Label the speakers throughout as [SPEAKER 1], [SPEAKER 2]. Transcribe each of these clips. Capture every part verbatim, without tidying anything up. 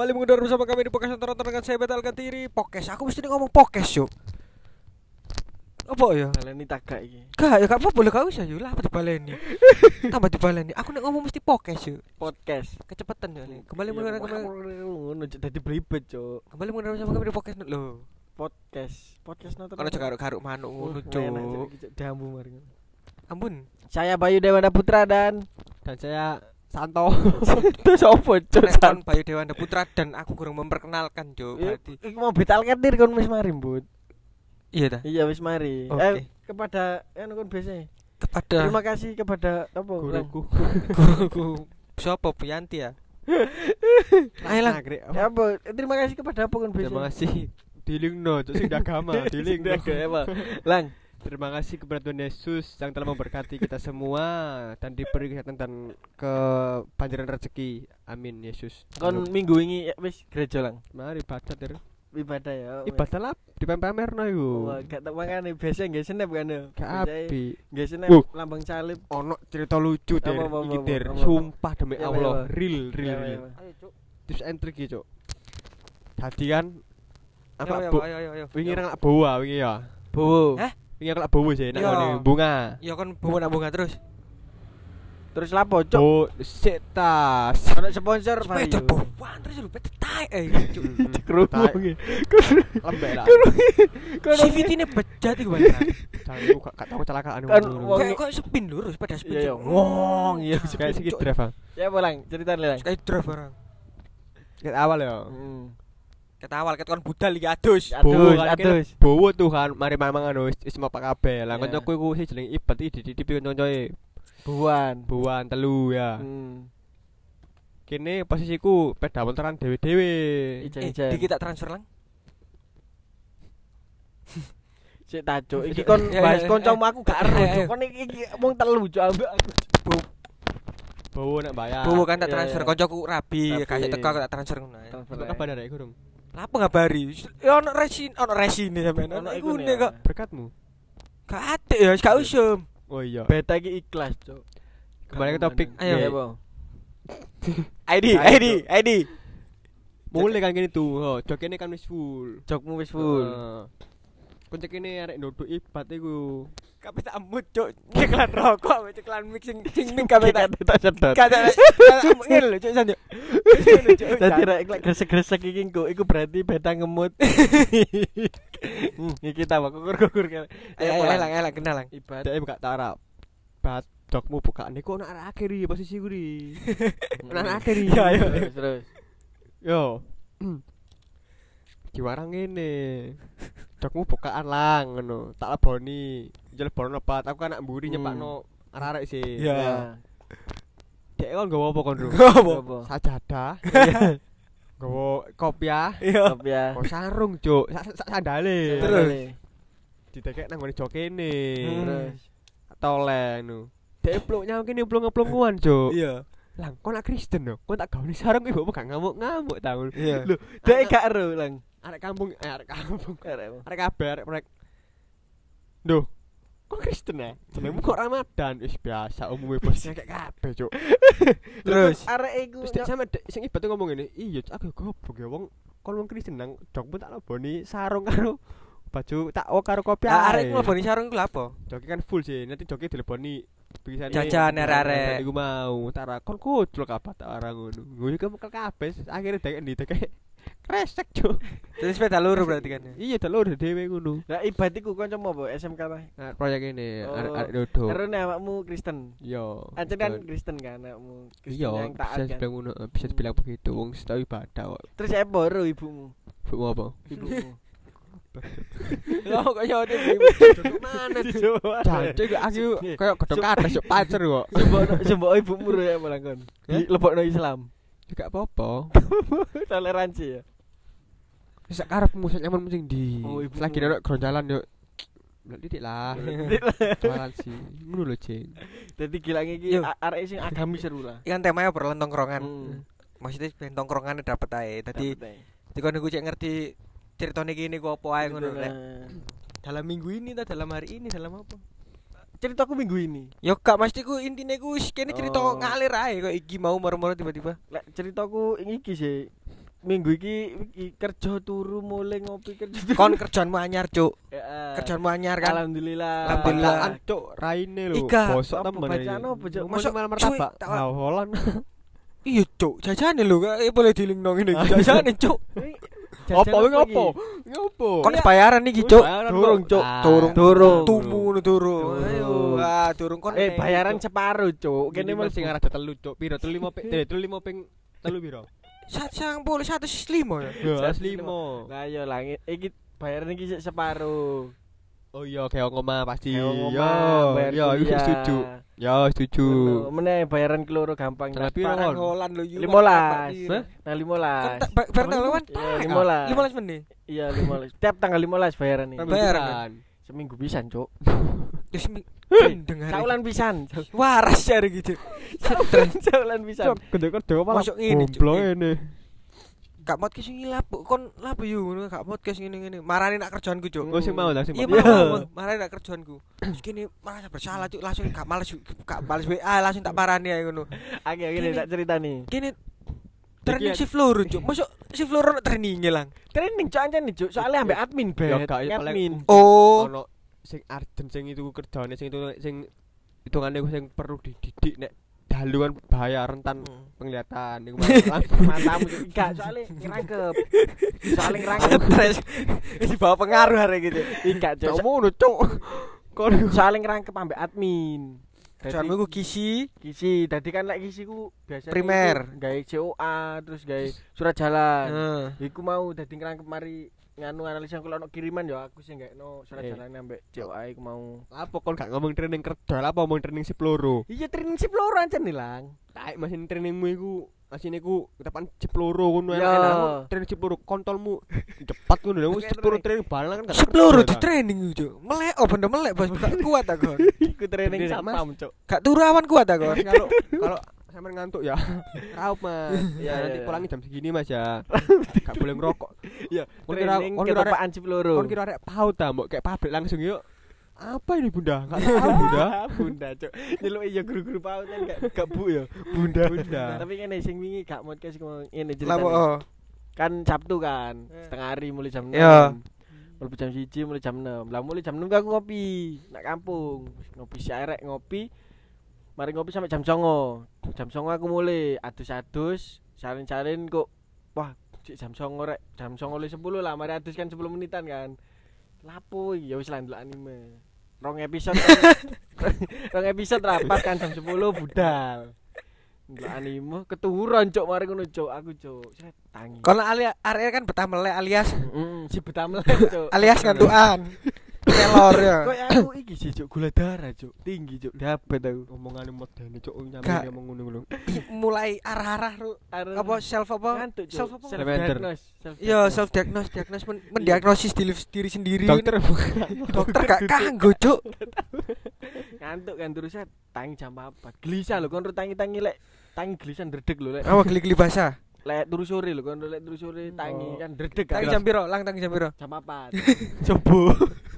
[SPEAKER 1] Kembali mengudara bersama kami di podcast nonton dengan saya Betal Katiri. Podcast, aku mesti ngomong podcast yuk. Apa ya?
[SPEAKER 2] Baleni tagak iki.
[SPEAKER 1] Gak, ya gak apa boleh gak usah yuk lah apa dibaleni. Tambah dibaleni. Aku nek ngomong mesti podcast yuk.
[SPEAKER 2] Podcast.
[SPEAKER 1] Kecepetan ya nih. Kembali mengudara kembali.
[SPEAKER 2] Ngono dadi blibet, Cuk.
[SPEAKER 1] Kembali mengudara bersama kami di podcast lho.
[SPEAKER 2] Podcast. Podcast nonton.
[SPEAKER 1] Kalau garuk-garuk manuk ngono, Cuk.
[SPEAKER 2] Dambu mari.
[SPEAKER 1] Ampun.
[SPEAKER 2] Saya Bayu Dewanda Putra dan
[SPEAKER 3] dan saya Santo.
[SPEAKER 2] itu sopo, Cuk?
[SPEAKER 1] Nek kon Bayu Dewanda Putra dan aku kurang memperkenalkan, Cuk. Berarti
[SPEAKER 2] Iku mau Betal Katir kon wis mari, Bud.
[SPEAKER 1] iya dah.
[SPEAKER 2] Iya wis mari.
[SPEAKER 1] Oke.
[SPEAKER 2] Eh kepada anu kon biasa.
[SPEAKER 1] Kepada
[SPEAKER 2] Terima kasih kepada apa?
[SPEAKER 3] Guruku.
[SPEAKER 1] guruku. Siapa Pianti ya? Ayolah.
[SPEAKER 2] Ya apa? Terima kasih kepada apa kon biasa?
[SPEAKER 3] Terima kasih. Dilingno, cuk sing agama, dilingno.
[SPEAKER 2] Lang.
[SPEAKER 3] Terima kasih kepada Tuhan Yesus yang telah memberkati kita semua dan diberi kesehatan dan kebanjiran rezeki. Amin Yesus.
[SPEAKER 2] Kon minggu ini wis gereja lang.
[SPEAKER 3] Mari ibadah ter.
[SPEAKER 2] Ibadah ya.
[SPEAKER 3] Ibadah lah di pamerno iku.
[SPEAKER 2] Wah, gak tak mangane biasa nggih senep kan.
[SPEAKER 3] Gak api.
[SPEAKER 2] Nggih senep
[SPEAKER 3] Uh.
[SPEAKER 2] lambang salib.
[SPEAKER 3] Ono cerita lucu ter.
[SPEAKER 2] Apa, apa,
[SPEAKER 3] Iki
[SPEAKER 2] apa,
[SPEAKER 3] ter.
[SPEAKER 2] apa, apa.
[SPEAKER 3] Sumpah demi
[SPEAKER 2] Ya,
[SPEAKER 3] Allah,
[SPEAKER 2] ya, ya.
[SPEAKER 3] real real
[SPEAKER 2] Ya,
[SPEAKER 3] real.
[SPEAKER 2] ya, ya.
[SPEAKER 1] Ayo, Cuk.
[SPEAKER 3] Tips and trick iki, cuk. Dadi kan apa
[SPEAKER 1] Ayo,
[SPEAKER 3] bu?
[SPEAKER 1] ayo, ayo, ayo.
[SPEAKER 3] Wingi nang bawa wingi ya.
[SPEAKER 2] Bowo.
[SPEAKER 1] Hah?
[SPEAKER 3] Wingi nang bawa sih nang
[SPEAKER 1] Iya.
[SPEAKER 3] ngene bunga.
[SPEAKER 1] Ya kon bunga-bunga terus.
[SPEAKER 2] Terus lapo, Cuk?
[SPEAKER 3] Oh, setas.
[SPEAKER 2] Ono sponsor
[SPEAKER 1] Sepeda
[SPEAKER 2] Bayu.
[SPEAKER 1] buan terus lu pete tai eh. Cuk.
[SPEAKER 2] Kerungu
[SPEAKER 3] Tai.
[SPEAKER 2] iki.
[SPEAKER 3] Lembek lah.
[SPEAKER 1] C V T-ne bejat iku beneran.
[SPEAKER 3] Jangan lu gak tau kecelakaan
[SPEAKER 2] Kan
[SPEAKER 3] ngono.
[SPEAKER 2] wong-
[SPEAKER 1] Kayak kok spin lurus sepeda spin.
[SPEAKER 2] Iya, iya.
[SPEAKER 1] Cuk.
[SPEAKER 2] Wong, iya.
[SPEAKER 3] Kayak sikit drive. ah.
[SPEAKER 2] Ya bolang, cerita lang.
[SPEAKER 1] Kayak drive barang.
[SPEAKER 3] Ket awal ya.
[SPEAKER 2] Heeh.
[SPEAKER 1] Ket awal ket kon budal iki adus.
[SPEAKER 2] Adus,
[SPEAKER 3] Bowo kan kene
[SPEAKER 2] adus.
[SPEAKER 3] bowo tuh kan mari mangan wis wis mau pak kabeh. Lah
[SPEAKER 2] Iya.
[SPEAKER 3] kancaku iku sing jeneng Ibat iki dititipi kanca-kancoe.
[SPEAKER 2] Buan.
[SPEAKER 3] Buan telu ya.
[SPEAKER 2] Hmm.
[SPEAKER 3] Kene posisiku peda montoran dhewe-dhewe.
[SPEAKER 1] Eh,
[SPEAKER 2] Ijen-ijen.
[SPEAKER 1] dikit tak transfer lang.
[SPEAKER 2] Sik ta, Cuk. Iki kon
[SPEAKER 1] Ya, ya,
[SPEAKER 2] bahas
[SPEAKER 1] ya,
[SPEAKER 2] kancamu
[SPEAKER 1] ya.
[SPEAKER 2] aku gak ero,
[SPEAKER 1] Ayo, ayo.
[SPEAKER 2] Cuk. Kon iki iki mung telu, Cuk, ambek aku.
[SPEAKER 3] Bowo nek bayar.
[SPEAKER 1] Bowo kan tak
[SPEAKER 2] Iya,
[SPEAKER 1] transfer
[SPEAKER 2] iya.
[SPEAKER 1] koncoku rabi,
[SPEAKER 2] Rabi.
[SPEAKER 1] kasih teko aku tak transfer ngono. ae.
[SPEAKER 2] Transfer
[SPEAKER 3] Kok
[SPEAKER 2] ae.
[SPEAKER 3] kabar arek gurung?
[SPEAKER 1] Lah apa ngabari? Ya ono resin, ono resine sampean.
[SPEAKER 2] Ono
[SPEAKER 1] Ono
[SPEAKER 2] iku
[SPEAKER 1] iku kok.
[SPEAKER 3] Berkatmu.
[SPEAKER 1] Gak ate ya, gak usum.
[SPEAKER 3] Oh iya.
[SPEAKER 2] Beta iki ikhlas, Cuk.
[SPEAKER 3] Kembali ke topik.
[SPEAKER 1] Ayo.
[SPEAKER 2] Iya,
[SPEAKER 3] Nih,
[SPEAKER 2] Bang.
[SPEAKER 1] I D,
[SPEAKER 2] Ayo,
[SPEAKER 1] I D, I D.
[SPEAKER 3] mulai kan gini tuh. Oh, jok ini kan wis full.
[SPEAKER 2] Jokmu wis full.
[SPEAKER 3] Heeh. Kunci kene arek ndodok Ibat iku.
[SPEAKER 1] Kabeh tak mut, Cuk. Iklan rokok, iklan mix sing sing ming kabeh tak
[SPEAKER 2] tak sedot.
[SPEAKER 1] kata ngene lho, Cuk, sanjo.
[SPEAKER 2] Dadi rek lek gresek-gresek iki engko iku berarti beta ngemut. Hmm, iki ta kukur-kukur kene.
[SPEAKER 1] Ayo, ayo, elang, elang, kenal lang.
[SPEAKER 2] Ibadah.
[SPEAKER 3] Dek buka tarap. Bat jokmu buka niku ono arek akhir iki posisi ku ri. Ono arek akhir iki.
[SPEAKER 1] Ya, ayo.
[SPEAKER 2] Terus terus.
[SPEAKER 3] Yo. Diwarang ngene. Jokmu bukaan lang ngono. Tak leboni. Njel bono bat aku kan anak mburi
[SPEAKER 2] Hmm.
[SPEAKER 3] nyepakno arek-arek sih.
[SPEAKER 1] Ya.
[SPEAKER 3] Dek kon nggawa apa kon, Bro?
[SPEAKER 1] Ngopo?
[SPEAKER 3] Sajadah. Nggawa kopiah.
[SPEAKER 1] Iya.
[SPEAKER 2] Top ya.
[SPEAKER 3] Oh sarung, Cuk. Sak sak sandale.
[SPEAKER 1] Terus?
[SPEAKER 3] Ditekek nang ngene jok kene.
[SPEAKER 2] Terus.
[SPEAKER 3] Toleng nu. Dek pluk nyang kene plung-plunguan, Cuk.
[SPEAKER 1] Iya.
[SPEAKER 3] Lang, kok nak Kristen no? Kok tak gawe sarung ibu gak ngamuk-ngamuk ta.
[SPEAKER 1] Iya.
[SPEAKER 3] Lho,
[SPEAKER 2] Dek gak ero lang.
[SPEAKER 3] arek kampung, eh, arek kampung.
[SPEAKER 2] Arek.
[SPEAKER 3] Arek kabeh arek prek. Duh. Kok Kristen ya? Jenengmu kok Ramadan? Wis biasa umume bos kayak kabeh, Cuk.
[SPEAKER 1] Terus
[SPEAKER 2] Arek iku
[SPEAKER 3] Terus dek sampe dek sing Ibat ngomong ngene, "Iya, aku goblok ya wong kon wong Kristen nang jokmu tak leboni sarung karo baju tak o karo kopi
[SPEAKER 1] ah, arek mleboni sarung ku lha apa?
[SPEAKER 3] Joki kan full sih, nanti joki dileboni tulisannya
[SPEAKER 1] Jajan arek-arek.
[SPEAKER 3] Iku mau, tak ra kon kucluk apa tak ora ngono. Ngono iku mekel kabeh, akhire dek ndi dek kresek, Cuk.
[SPEAKER 1] Terus sepeda luru berarti kan.
[SPEAKER 3] Iya, delur dhewe ngono.
[SPEAKER 2] Lah Ibad iku kancamu apa S M K ta?
[SPEAKER 3] Nah, proyek ini
[SPEAKER 2] Oh.
[SPEAKER 3] arek-arek dodo.
[SPEAKER 2] Ero nek awakmu Kristen.
[SPEAKER 3] Yo.
[SPEAKER 2] Ancen kan Kristen kan anakmu. Kristen
[SPEAKER 3] Iya,
[SPEAKER 2] yang taat
[SPEAKER 3] bisa
[SPEAKER 2] kan.
[SPEAKER 3] dibilang ngono, bisa dibilang begitu. Wong setahu ibadah kok.
[SPEAKER 2] Terus apa baru ibumu?
[SPEAKER 3] Bukmu apa?
[SPEAKER 2] Ibumu.
[SPEAKER 1] Lah kok yo
[SPEAKER 3] Duduk mana?
[SPEAKER 2] Coba.
[SPEAKER 3] Jancuk aku koyo godhong kadas yo pacer kok.
[SPEAKER 2] Sembok sembok ibumu ro ya malah kon. Di lebokno Islam.
[SPEAKER 3] Gak apa-apa.
[SPEAKER 2] Toleransi ya.
[SPEAKER 3] Wis sak karepmu sak nyaman sing ndi.
[SPEAKER 2] Oh, ibumu.
[SPEAKER 3] Lagi nek gronjalan yo Didik lah. Toleransi. Ngono lho, Jeng.
[SPEAKER 2] Dadi gilang iki
[SPEAKER 1] Yo.
[SPEAKER 2] a- arek sing agamis seru lah.
[SPEAKER 1] Ikan temanya perlen tongkrongan.
[SPEAKER 2] Hmm.
[SPEAKER 1] Maksudnya ben tongkrongannya dapet ae. Dadi
[SPEAKER 2] Dapet ae.
[SPEAKER 1] dikon niku cek ngerti ceritane iki niku apa ae ngono
[SPEAKER 2] Gitu
[SPEAKER 1] rek.
[SPEAKER 2] lah.
[SPEAKER 1] Dalam minggu ini ta dalam hari ini dalam apa?
[SPEAKER 2] Ceritaku minggu ini.
[SPEAKER 1] Yo gak mesti ku intine ku wis kene cerita
[SPEAKER 2] Oh.
[SPEAKER 1] ngalir ae kok iki mau moro-moro tiba-tiba.
[SPEAKER 2] Lek ceritaku iki sih minggu iki, iki kerja turu mulai ngopi kerja turu.
[SPEAKER 1] Kon kerjaanmu anyar, Cuk.
[SPEAKER 2] Ya,
[SPEAKER 1] Kerjaanmu anyar kan.
[SPEAKER 2] alhamdulillah.
[SPEAKER 1] Alhamdulillah.
[SPEAKER 3] Bacaan cuk raine lho.
[SPEAKER 1] Ika.
[SPEAKER 3] Bosok
[SPEAKER 2] Apa
[SPEAKER 3] temen.
[SPEAKER 2] bacaan apa, Cuk?
[SPEAKER 3] Masuk
[SPEAKER 1] Masuk
[SPEAKER 3] malam
[SPEAKER 1] cuy,
[SPEAKER 3] martabak.
[SPEAKER 1] tak-
[SPEAKER 3] Hawalan.
[SPEAKER 1] Iya, Cuk. Jajane lho, kayak boleh dilingno ngene. Jajane, Cuk.
[SPEAKER 3] Apa kuwi ngopo? Ngopo?
[SPEAKER 1] Kon bayaran iki, Cuk.
[SPEAKER 2] Durung, Cuk.
[SPEAKER 1] Durung.
[SPEAKER 2] Durung.
[SPEAKER 1] Tumu ngono durung.
[SPEAKER 2] Durung.
[SPEAKER 1] Ayo, ah durung kon.
[SPEAKER 2] Eh bayaran separuh, Cuk.
[SPEAKER 3] Kene
[SPEAKER 2] Kene
[SPEAKER 3] mesti
[SPEAKER 2] mesti
[SPEAKER 3] ngarah telu cuk. Piro? telu lima ping. Telu lima ping telu piro?
[SPEAKER 1] Sang boleh satu lima ya.
[SPEAKER 3] Ya, lima.
[SPEAKER 2] Lah iya lah iki bayaran iki sik separuh.
[SPEAKER 3] Oh iya, kayak ngomah pasti.
[SPEAKER 2] Kayak
[SPEAKER 3] Yo,
[SPEAKER 2] ngomah, bayar
[SPEAKER 3] yo,
[SPEAKER 2] kuliah.
[SPEAKER 3] setuju. Ya, setuju.
[SPEAKER 2] Meneh bayaran keloro gampang.
[SPEAKER 3] Nah, piro
[SPEAKER 1] Parang
[SPEAKER 3] kon?
[SPEAKER 1] holan lho yu.
[SPEAKER 2] limolas.
[SPEAKER 1] Hah?
[SPEAKER 2] Nah limolas.
[SPEAKER 1] Bar tanggal lawan?
[SPEAKER 2] Iya, limolas.
[SPEAKER 1] limolas menit.
[SPEAKER 2] Iya limolas. Tiap tanggal limolas bayaran iki.
[SPEAKER 1] Bayaran.
[SPEAKER 2] Seminggu pisan, Cuk.
[SPEAKER 1] Wis dengar.
[SPEAKER 2] Saulan pisan.
[SPEAKER 1] Waras jare gitu. Stres.
[SPEAKER 2] Saulan pisan.
[SPEAKER 3] Gede kerja apa?
[SPEAKER 1] Masuk ini, Cuk.
[SPEAKER 3] Goblok ini.
[SPEAKER 1] Gak podcast sing lapo kon lapo yu ngono gak podcast ngene-ngene. Marani nak kerjaanku, Cuk.
[SPEAKER 3] Oh sing mau lah sing
[SPEAKER 1] Iya
[SPEAKER 3] mau.
[SPEAKER 1] mau, marani nak kerjaanku. Terus kene merasa bersalah, Cuk. Langsung gak males gak males W A, langsung tak parani ae ngono.
[SPEAKER 2] Oke, gini
[SPEAKER 1] Gini.
[SPEAKER 2] tak ceritani.
[SPEAKER 1] Kene training
[SPEAKER 3] Iki-
[SPEAKER 1] shift loro, Cuk. Masuk shift loro nak training lang.
[SPEAKER 2] Training Cuk anjen nih, Cuk. Soalnya ambek admin,
[SPEAKER 3] Ya
[SPEAKER 2] Bet.
[SPEAKER 3] gak ya paling
[SPEAKER 2] Admin.
[SPEAKER 1] Oh.
[SPEAKER 3] ono sing arjen sing itu kerjane sing itu sing hitungane sing perlu dididik nek daluan bahaya rentan penglihatan iku
[SPEAKER 2] Mantamu Cuk. Enggak, soalnya ngerangkep. Soalnya ngerangkep.
[SPEAKER 1] Stres. Wis bawa pengaruh hari gitu.
[SPEAKER 2] Enggak, Cuk.
[SPEAKER 3] Cuk ngono cuk. Kon
[SPEAKER 2] Soalnya ngerangkep ambek admin.
[SPEAKER 1] Kerjaanmu ku kisi
[SPEAKER 2] Kisi, tadi kan lek kisi ku biasanya
[SPEAKER 1] Primer.
[SPEAKER 2] iku gawe C O A, terus gawe surat jalan.
[SPEAKER 1] Heeh.
[SPEAKER 2] Iku mau dadi ngerangkep mari nganu analisa kalau ono kiriman ya aku sing gawe surat
[SPEAKER 3] Eh.
[SPEAKER 2] jalan ambek C O A iku mau.
[SPEAKER 3] apa kon gak ngomong training kerja lah apa ngomong training sip loro.
[SPEAKER 2] Iya training sip loro ancen nilang.
[SPEAKER 3] Kayak mesin trainingmu iku asine iku depan sip loro ngono
[SPEAKER 2] Ya.
[SPEAKER 3] enak. Training sip loro kontolmu cepat ngono lho sip loro training balang kan gak
[SPEAKER 1] Sepuluh
[SPEAKER 3] kerja,
[SPEAKER 1] di
[SPEAKER 3] ta.
[SPEAKER 1] training Cuk. Melek oh bener melek bos gak kuat aku.
[SPEAKER 2] Iku training
[SPEAKER 3] Bener,
[SPEAKER 2] satpam, Cuk.
[SPEAKER 1] Gak turu awan kuat aku.
[SPEAKER 3] Mas, kalau kalau sampean ngantuk ya raup Mas.
[SPEAKER 2] Ya,
[SPEAKER 3] Ya nanti
[SPEAKER 2] ya.
[SPEAKER 3] pulangi jam segini Mas ya. Gak boleh ngerokok.
[SPEAKER 2] Iya,
[SPEAKER 3] Kon kira
[SPEAKER 2] training
[SPEAKER 3] kon kira arek
[SPEAKER 2] ketopaan sip loro.
[SPEAKER 3] kon kira arek tahu ta mbok kayak pabrik langsung yuk. Apa ini Bunda? Gak tahu Bunda.
[SPEAKER 2] Bunda, Cuk. Nyeluk iya guru-guru PAUD kan gak gak bu ya.
[SPEAKER 3] Bunda. Bunda.
[SPEAKER 2] Tapi ngene sing wingi gak podcast ngomong ngene
[SPEAKER 1] Lapo
[SPEAKER 2] ceritane.
[SPEAKER 1] oh.
[SPEAKER 2] Kan Sabtu kan,
[SPEAKER 1] Eh.
[SPEAKER 2] setengah hari mulai jam enam.
[SPEAKER 1] Iya.
[SPEAKER 2] Mulai jam satu mulai jam enam. Lah mulai jam enam aku ngopi nak kampung. Ngopi si arek ngopi. Mari ngopi sampai jam songo. Jam songo aku mulai adus-adus, salin-salin kok. Wah, cik jam songo rek. Jam songo le sepuluh lah, mari adus kan sepuluh menitan kan. Lapo ya wis lah ndelok anime. Rong episode. Rong episode rapat kan jam sepuluh budal. Ndelok anime keturunan cuk mari ngono cuk aku cuk. Set tangi.
[SPEAKER 1] Kalau alias area kan betah melek alias
[SPEAKER 2] Heeh, si betah melek cuk.
[SPEAKER 1] alias ngantukan. Kelor ya.
[SPEAKER 2] Kok aku iki sih cuk gula darah cuk, tinggi cuk, diabetes aku.
[SPEAKER 3] Omongane modene cuk
[SPEAKER 1] Gak.
[SPEAKER 3] nyampe ngomong ngono lho.
[SPEAKER 1] Mulai arah-arah ru- apa self apa?
[SPEAKER 2] ngantuk cuk.
[SPEAKER 1] Self apa?
[SPEAKER 2] Self
[SPEAKER 3] Lavender.
[SPEAKER 2] diagnose.
[SPEAKER 1] Iya, self diagnose, diagnose men- mendiagnosis diri, diri sendiri.
[SPEAKER 3] Dokter
[SPEAKER 1] dokter gak kanggo, Cuk.
[SPEAKER 2] Ngantuk kan terus set tangi jam empat. Gelisah lho kon tangi-tangi lek tangi gelisah ndredeg lho lek.
[SPEAKER 1] Apa geli-geli basah?
[SPEAKER 2] Lek turu sore lho kon lek turu sore tangi
[SPEAKER 3] Oh.
[SPEAKER 2] kan ndredeg kan.
[SPEAKER 1] Tangi jam piro? Lang tangi jam piro?
[SPEAKER 2] jam empat. Coba.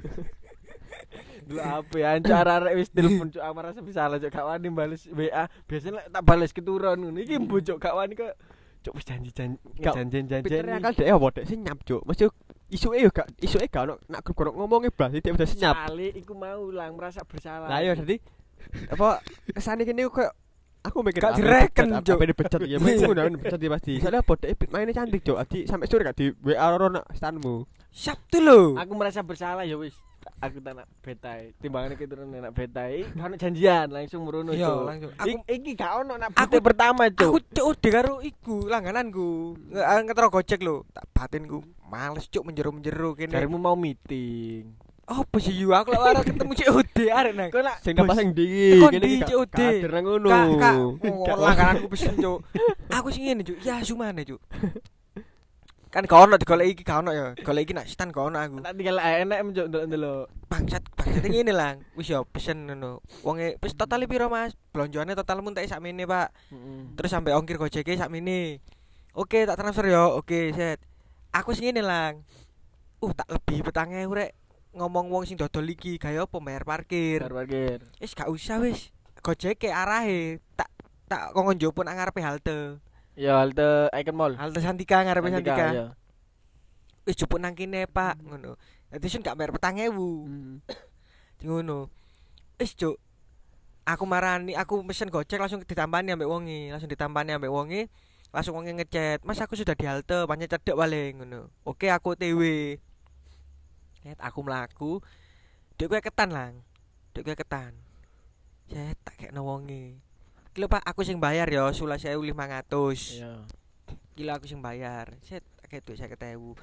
[SPEAKER 2] Dulu apa ya ancar arek wis telepon cuk aku merasa bersalah cuk gak wani bales W A. Biasanya lek tak bales keturun ngono. Iki mbo cuk gak wani kok cuk wis janji-janji
[SPEAKER 3] Gak,
[SPEAKER 2] janjian-janjian.
[SPEAKER 3] Pikir akal dhek apa dhek senyap cuk. Mesti isuke yo gak isuke gak ono nak grup ngomongnya blas dia udah senyap.
[SPEAKER 2] Sekali iku mau lang merasa bersalah.
[SPEAKER 3] Lah yo dadi apa kesane kene koyo aku mikir
[SPEAKER 1] Gak
[SPEAKER 3] apa
[SPEAKER 1] direken,
[SPEAKER 3] dipecat,
[SPEAKER 1] Cuk.
[SPEAKER 3] apa dipecat ya mesti ngono dipecat dia pasti. Soalnya apa dhek mainnya cantik cuk. Adi sampai sore gak di W A ora nak stanmu.
[SPEAKER 1] Sabtu lho.
[SPEAKER 2] Aku merasa bersalah ya wis. Aku tak nak betai. Timbangane keturun nak betai, kan janjian langsung merono
[SPEAKER 1] Iya,
[SPEAKER 2] cuk.
[SPEAKER 1] langsung.
[SPEAKER 2] Aku
[SPEAKER 1] Aku
[SPEAKER 2] iki gak ono nak
[SPEAKER 1] aku-
[SPEAKER 2] bete pertama
[SPEAKER 1] aku
[SPEAKER 2] cuk.
[SPEAKER 1] cuk udah karo iku langgananku. Nge- Ngetro Gojek lho. Tak batinku. Males cuk menjero-menjero kene.
[SPEAKER 2] Jarimu mau meeting.
[SPEAKER 1] Apa sih yu aku lek ora ketemu C O D arek nang.
[SPEAKER 2] Kok nak
[SPEAKER 3] Sing dapat sing ndi
[SPEAKER 1] Kon
[SPEAKER 3] kene
[SPEAKER 1] di
[SPEAKER 3] iki
[SPEAKER 1] C O D.
[SPEAKER 3] gak kader nang ngono.
[SPEAKER 1] Kak, kak, oh, langgananku pesen cuk. Aku sing ngene cuk. Ya sumane cuk. Kan gak ono digoleki iki gak ono ya. Goleki nak stan gak ono aku.
[SPEAKER 2] tak tinggal enak cuk ndelok-ndelok.
[SPEAKER 1] Bangsat, bangsat ngene lang. Wis ya pesen ngono. Wonge wis total piro Mas? Blonjoane total mun tak sakmene, Pak.
[SPEAKER 2] Heeh.
[SPEAKER 1] Terus sampai ongkir Gojeke sakmene. Oke, tak transfer ya. Oke, set. Aku sing ngene lang. Uh, tak lebih petang ewu rek ngomong wong sing dodol iki gawe apa bayar parkir.
[SPEAKER 2] Bar parkir.
[SPEAKER 1] Wis gak usah wis. Gojeke arahe tak tak kongkon njupun nang ngarepe halte.
[SPEAKER 2] Ya halte Icon Mall.
[SPEAKER 1] Halte Santika ngarepe Santika.
[SPEAKER 2] ya.
[SPEAKER 1] Wis jupuk nang kene, Pak, ngono. Dadi sun gak bayar petang ewu.
[SPEAKER 2] Hmm.
[SPEAKER 1] Di ngono. Wis, Cuk. Aku marani, aku pesen Gojek langsung ditampani ambek wonge, langsung ditampani ambek wonge. Langsung wonge ngechat, "Mas, aku sudah di halte, pancen cedek paling," ngono. Oke, aku O T W. Net aku mlaku. Dek kowe ketan, Lang. Dek kowe ketan. Set tak kekno wonge. Iki lho, Pak, aku sing bayar ya, sewelas ewu lima ratus.
[SPEAKER 2] Iya.
[SPEAKER 1] Iki lho aku sing bayar. Set tak kek duit seket ewu.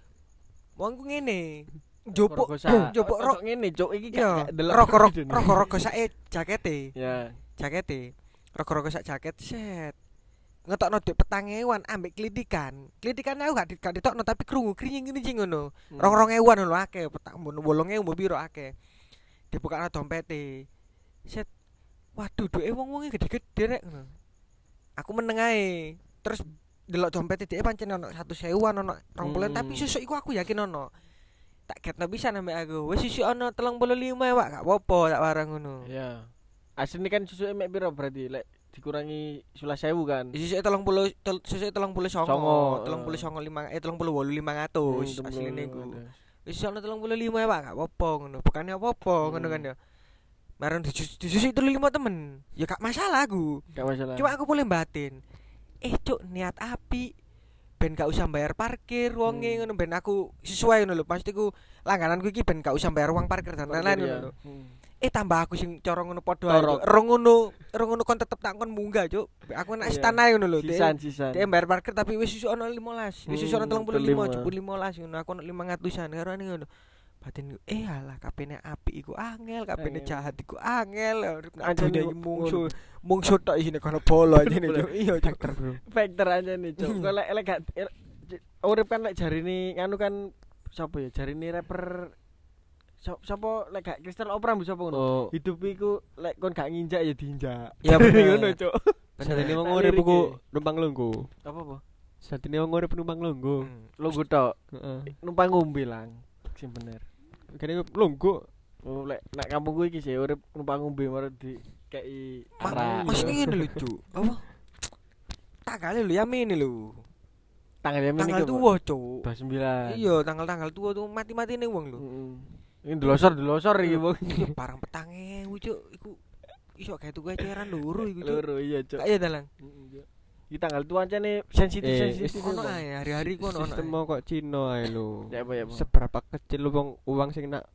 [SPEAKER 1] Wongku ngene. Njupuk njupuk rok
[SPEAKER 2] ngene, Cuk. Iki
[SPEAKER 1] ya.
[SPEAKER 2] gak delok.
[SPEAKER 1] Rok-rok rok-rok sak jakete.
[SPEAKER 2] Ya.
[SPEAKER 1] Jakete. Rok-rok sak jaket set. Ngetokno duit petang ewan ambek klitikan. Klitikan aku gak gak ditokno tapi krungu kringing-kringing ngono. Rong-rong ewan lho akeh, petang wolong ewu piro akeh. Dibukakno dompete. Set. Waduh, duwe wong-wonge gede-gede rek ngono. Aku meneng ae. Terus delok dompete dhek pancen ono seratus ribuan ono dua puluh
[SPEAKER 2] Hmm.
[SPEAKER 1] tapi sesuk iku aku yakin ono. Tak ketno pisan ambek aku. Wis sesuk ono tiga puluh lima ya, Pak. Gak apa-apa tak warang ngono.
[SPEAKER 2] Iya. Asline kan susuke mek piro berarti lek dikurangi sebelas ribu kan.
[SPEAKER 1] Sesuk tiga puluh sesuk tiga puluh
[SPEAKER 2] Songo,
[SPEAKER 1] songo,
[SPEAKER 2] eh.
[SPEAKER 1] tiga puluh songo lima eh tiga puluh wolu lima ratus
[SPEAKER 2] Hmm,
[SPEAKER 1] asline iku.
[SPEAKER 2] bener.
[SPEAKER 1] Wis ono tiga puluh lima ya, Pak. Gak apa-apa ngono. Bukane apa-apa ngono kan ya. Marang disusuk tiga puluh lima temen. Ya gak masalah aku.
[SPEAKER 2] Gak masalah.
[SPEAKER 1] Cuma aku boleh batin. Eh, Cuk, niat api. Ben gak usah bayar parkir wonge
[SPEAKER 2] Hmm.
[SPEAKER 1] ngono ben aku sesuai ngono lho. Pasti ku langgananku iki ben gak usah bayar uang parkir dan lain-lain ngono lho.
[SPEAKER 2] Hmm.
[SPEAKER 1] Eh tambah aku sing cara ngono padha ae.
[SPEAKER 2] Torok.
[SPEAKER 1] Cuk. Rong ngono, rong ngono kon tetep tak kon munggah, Cuk. Aku nek
[SPEAKER 2] Iya.
[SPEAKER 1] istana ngono lho.
[SPEAKER 2] Sisan sisan.
[SPEAKER 1] Dia bayar parkir tapi wis iso ono lima belas. Wis iso ono
[SPEAKER 2] Hmm,
[SPEAKER 1] tiga puluh lima,
[SPEAKER 2] lima.
[SPEAKER 1] jupuk lima belas ngono. Aku ono lima ratusan karo ane ngono. Batin eh alah kapene apik iku angel, kapene
[SPEAKER 2] Angel.
[SPEAKER 1] jahat iku angel.
[SPEAKER 2] Anjene
[SPEAKER 1] Adune
[SPEAKER 2] ngono.
[SPEAKER 1] mungsu, mungsu tok isine kono bolo ajene, Cuk. Iya, Cuk.
[SPEAKER 3] Bro.
[SPEAKER 2] Factor aja nih, Cuk. Kok lek lek gak urip kan lek jarine nganu kan sapa ya? Jarine rapper sop- sapa lek gak Crystal Opera mbok sapa ngono.
[SPEAKER 3] Oh,
[SPEAKER 2] Hidup iku lek kon gak nginjak ya diinjak.
[SPEAKER 1] Ya bener.
[SPEAKER 2] Ngono, Cuk.
[SPEAKER 3] satene wong
[SPEAKER 2] Nah,
[SPEAKER 3] urip
[SPEAKER 2] liriknya.
[SPEAKER 3] ku numpang lungguh.
[SPEAKER 2] Apa apa?
[SPEAKER 3] Satene wong urip numpang lungguh.
[SPEAKER 1] Hmm.
[SPEAKER 2] Lungguh tok.
[SPEAKER 3] Heeh.
[SPEAKER 2] Numpang ngombe lang. Sing bener.
[SPEAKER 3] Kene lungguh.
[SPEAKER 2] Oh, lek nek kampungku iki sih urip numpang ngombe marang di kei
[SPEAKER 1] Ma-
[SPEAKER 2] arah.
[SPEAKER 1] Maksudnya ngene lho, Cuk. Apa? Tanggal lho ya ini lho.
[SPEAKER 2] Tanggal yang ini
[SPEAKER 1] Tanggal tua, Cuk.
[SPEAKER 2] dua puluh sembilan.
[SPEAKER 1] Iya, tanggal-tanggal tua tuh mati-matine wong lho.
[SPEAKER 2] Heeh. Ini delosor-delosor iki, Bang.
[SPEAKER 1] Iya, barang petang ewu, Cuk. Iku iso kayak tuku eceran loro iku, Cuk.
[SPEAKER 2] Loro iya, Cuk.
[SPEAKER 1] Kayak dalang.
[SPEAKER 2] Iki tanggal tua aja nih sensitif
[SPEAKER 3] Eh,
[SPEAKER 2] sensitif.
[SPEAKER 1] Ono ae hari-hari ku ono ono.
[SPEAKER 3] Sistem
[SPEAKER 1] ae.
[SPEAKER 3] mau kok Cina ae lho.
[SPEAKER 2] Ya apa ya, Bang?
[SPEAKER 3] Seberapa kecil lu wong uang sing nak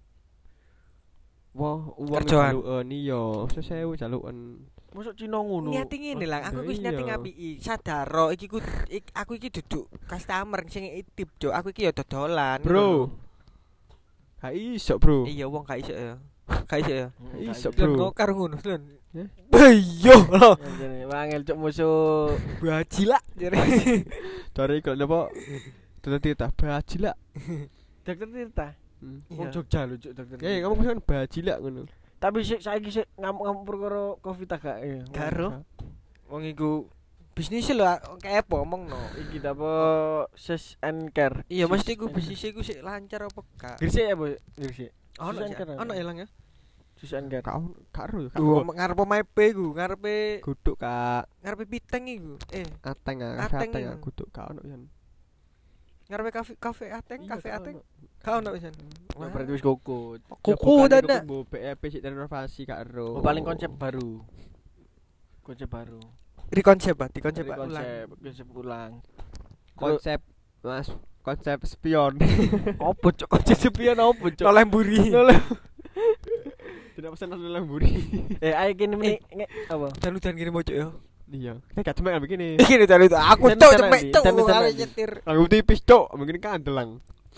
[SPEAKER 3] Wah, uang
[SPEAKER 1] Kerjaan.
[SPEAKER 3] jaluken iya, sesewu jaluken.
[SPEAKER 2] Mosok Cina ngono.
[SPEAKER 1] Niati ngene lah, aku wis
[SPEAKER 3] Iya.
[SPEAKER 1] niati ngapiki. Sadaro iki ku ik- aku iki duduk customer sing itip, Cuk. Aku iki ya dodolan.
[SPEAKER 3] Bro. Gak iso, Bro.
[SPEAKER 1] Iya, wong gak iso ya. Gak iso ya.
[SPEAKER 3] Iso,
[SPEAKER 1] Lho,
[SPEAKER 3] Bro.
[SPEAKER 1] kok karo ngono, Lon.
[SPEAKER 3] Hah?
[SPEAKER 1] Iya lho.
[SPEAKER 2] Wangel cuk musuh.
[SPEAKER 1] Baji lah jare.
[SPEAKER 3] Dari kalau apa? Tuh tita baji lah.
[SPEAKER 2] Dokter Tirta.
[SPEAKER 3] Hmm.
[SPEAKER 2] Wong
[SPEAKER 1] Iya.
[SPEAKER 2] Jogja lho cuk dokter.
[SPEAKER 3] Eh, kamu kan baji lah ngono.
[SPEAKER 2] Tapi sik saiki sik ngamuk-ngamuk perkara Covid ta gak ya.
[SPEAKER 1] Karo wong iku bisnis lho kayak apa omongno.
[SPEAKER 2] Iki ta apa Ses and Care.
[SPEAKER 1] Iya,
[SPEAKER 2] Sis
[SPEAKER 1] mesti iku
[SPEAKER 2] and
[SPEAKER 1] bisnis iku sik lancar apa gak?
[SPEAKER 2] Gresik ya, Bu? Gresik.
[SPEAKER 1] Ono
[SPEAKER 2] Sis and
[SPEAKER 1] sih,
[SPEAKER 2] Care.
[SPEAKER 1] ono ilang ya.
[SPEAKER 2] Sis and Care.
[SPEAKER 3] Kau karo ya,
[SPEAKER 1] Duh,
[SPEAKER 3] karo.
[SPEAKER 1] ngarep omahe iku, ngarepe
[SPEAKER 3] Guduk Kak.
[SPEAKER 1] ngarepe piteng iku. Eh,
[SPEAKER 3] Ateng ah,
[SPEAKER 1] Ateng
[SPEAKER 3] ateng
[SPEAKER 1] iya.
[SPEAKER 3] ah, guduk kak ono yan.
[SPEAKER 1] ngarepe kafe kafe ateng,
[SPEAKER 3] Iya,
[SPEAKER 1] kafe
[SPEAKER 3] gak
[SPEAKER 1] ateng.
[SPEAKER 3] ono.
[SPEAKER 1] Gak ono pisan.
[SPEAKER 2] Ya berarti wis kukut.
[SPEAKER 1] Kuku dada.
[SPEAKER 3] Bu B E P sik renovasi karo.
[SPEAKER 2] Oh, paling konsep baru. Konsep baru.
[SPEAKER 1] Di konsep, Pak, di konsep
[SPEAKER 2] Dari
[SPEAKER 1] Pak, ulang.
[SPEAKER 2] konsep, konsep ulang.
[SPEAKER 3] konsep Mas konsep spion.
[SPEAKER 2] Opo cuk konsep sepian opo cuk?
[SPEAKER 1] Noleh mburi.
[SPEAKER 2] Noleh.
[SPEAKER 3] Tidak pesan nasi lemburi.
[SPEAKER 2] Eh ayo kene meneh nge- apa?
[SPEAKER 1] Dan udan kene mojok ya.
[SPEAKER 3] Iya. Kita gak cuma begini.
[SPEAKER 1] Iki dan itu aku
[SPEAKER 2] Dan
[SPEAKER 1] cok
[SPEAKER 2] udan
[SPEAKER 1] cepet
[SPEAKER 2] nanti,
[SPEAKER 1] cok
[SPEAKER 2] dan udan
[SPEAKER 1] kali
[SPEAKER 2] nanti.
[SPEAKER 1] nyetir.
[SPEAKER 3] Lagu tipis cok, begini kan delang.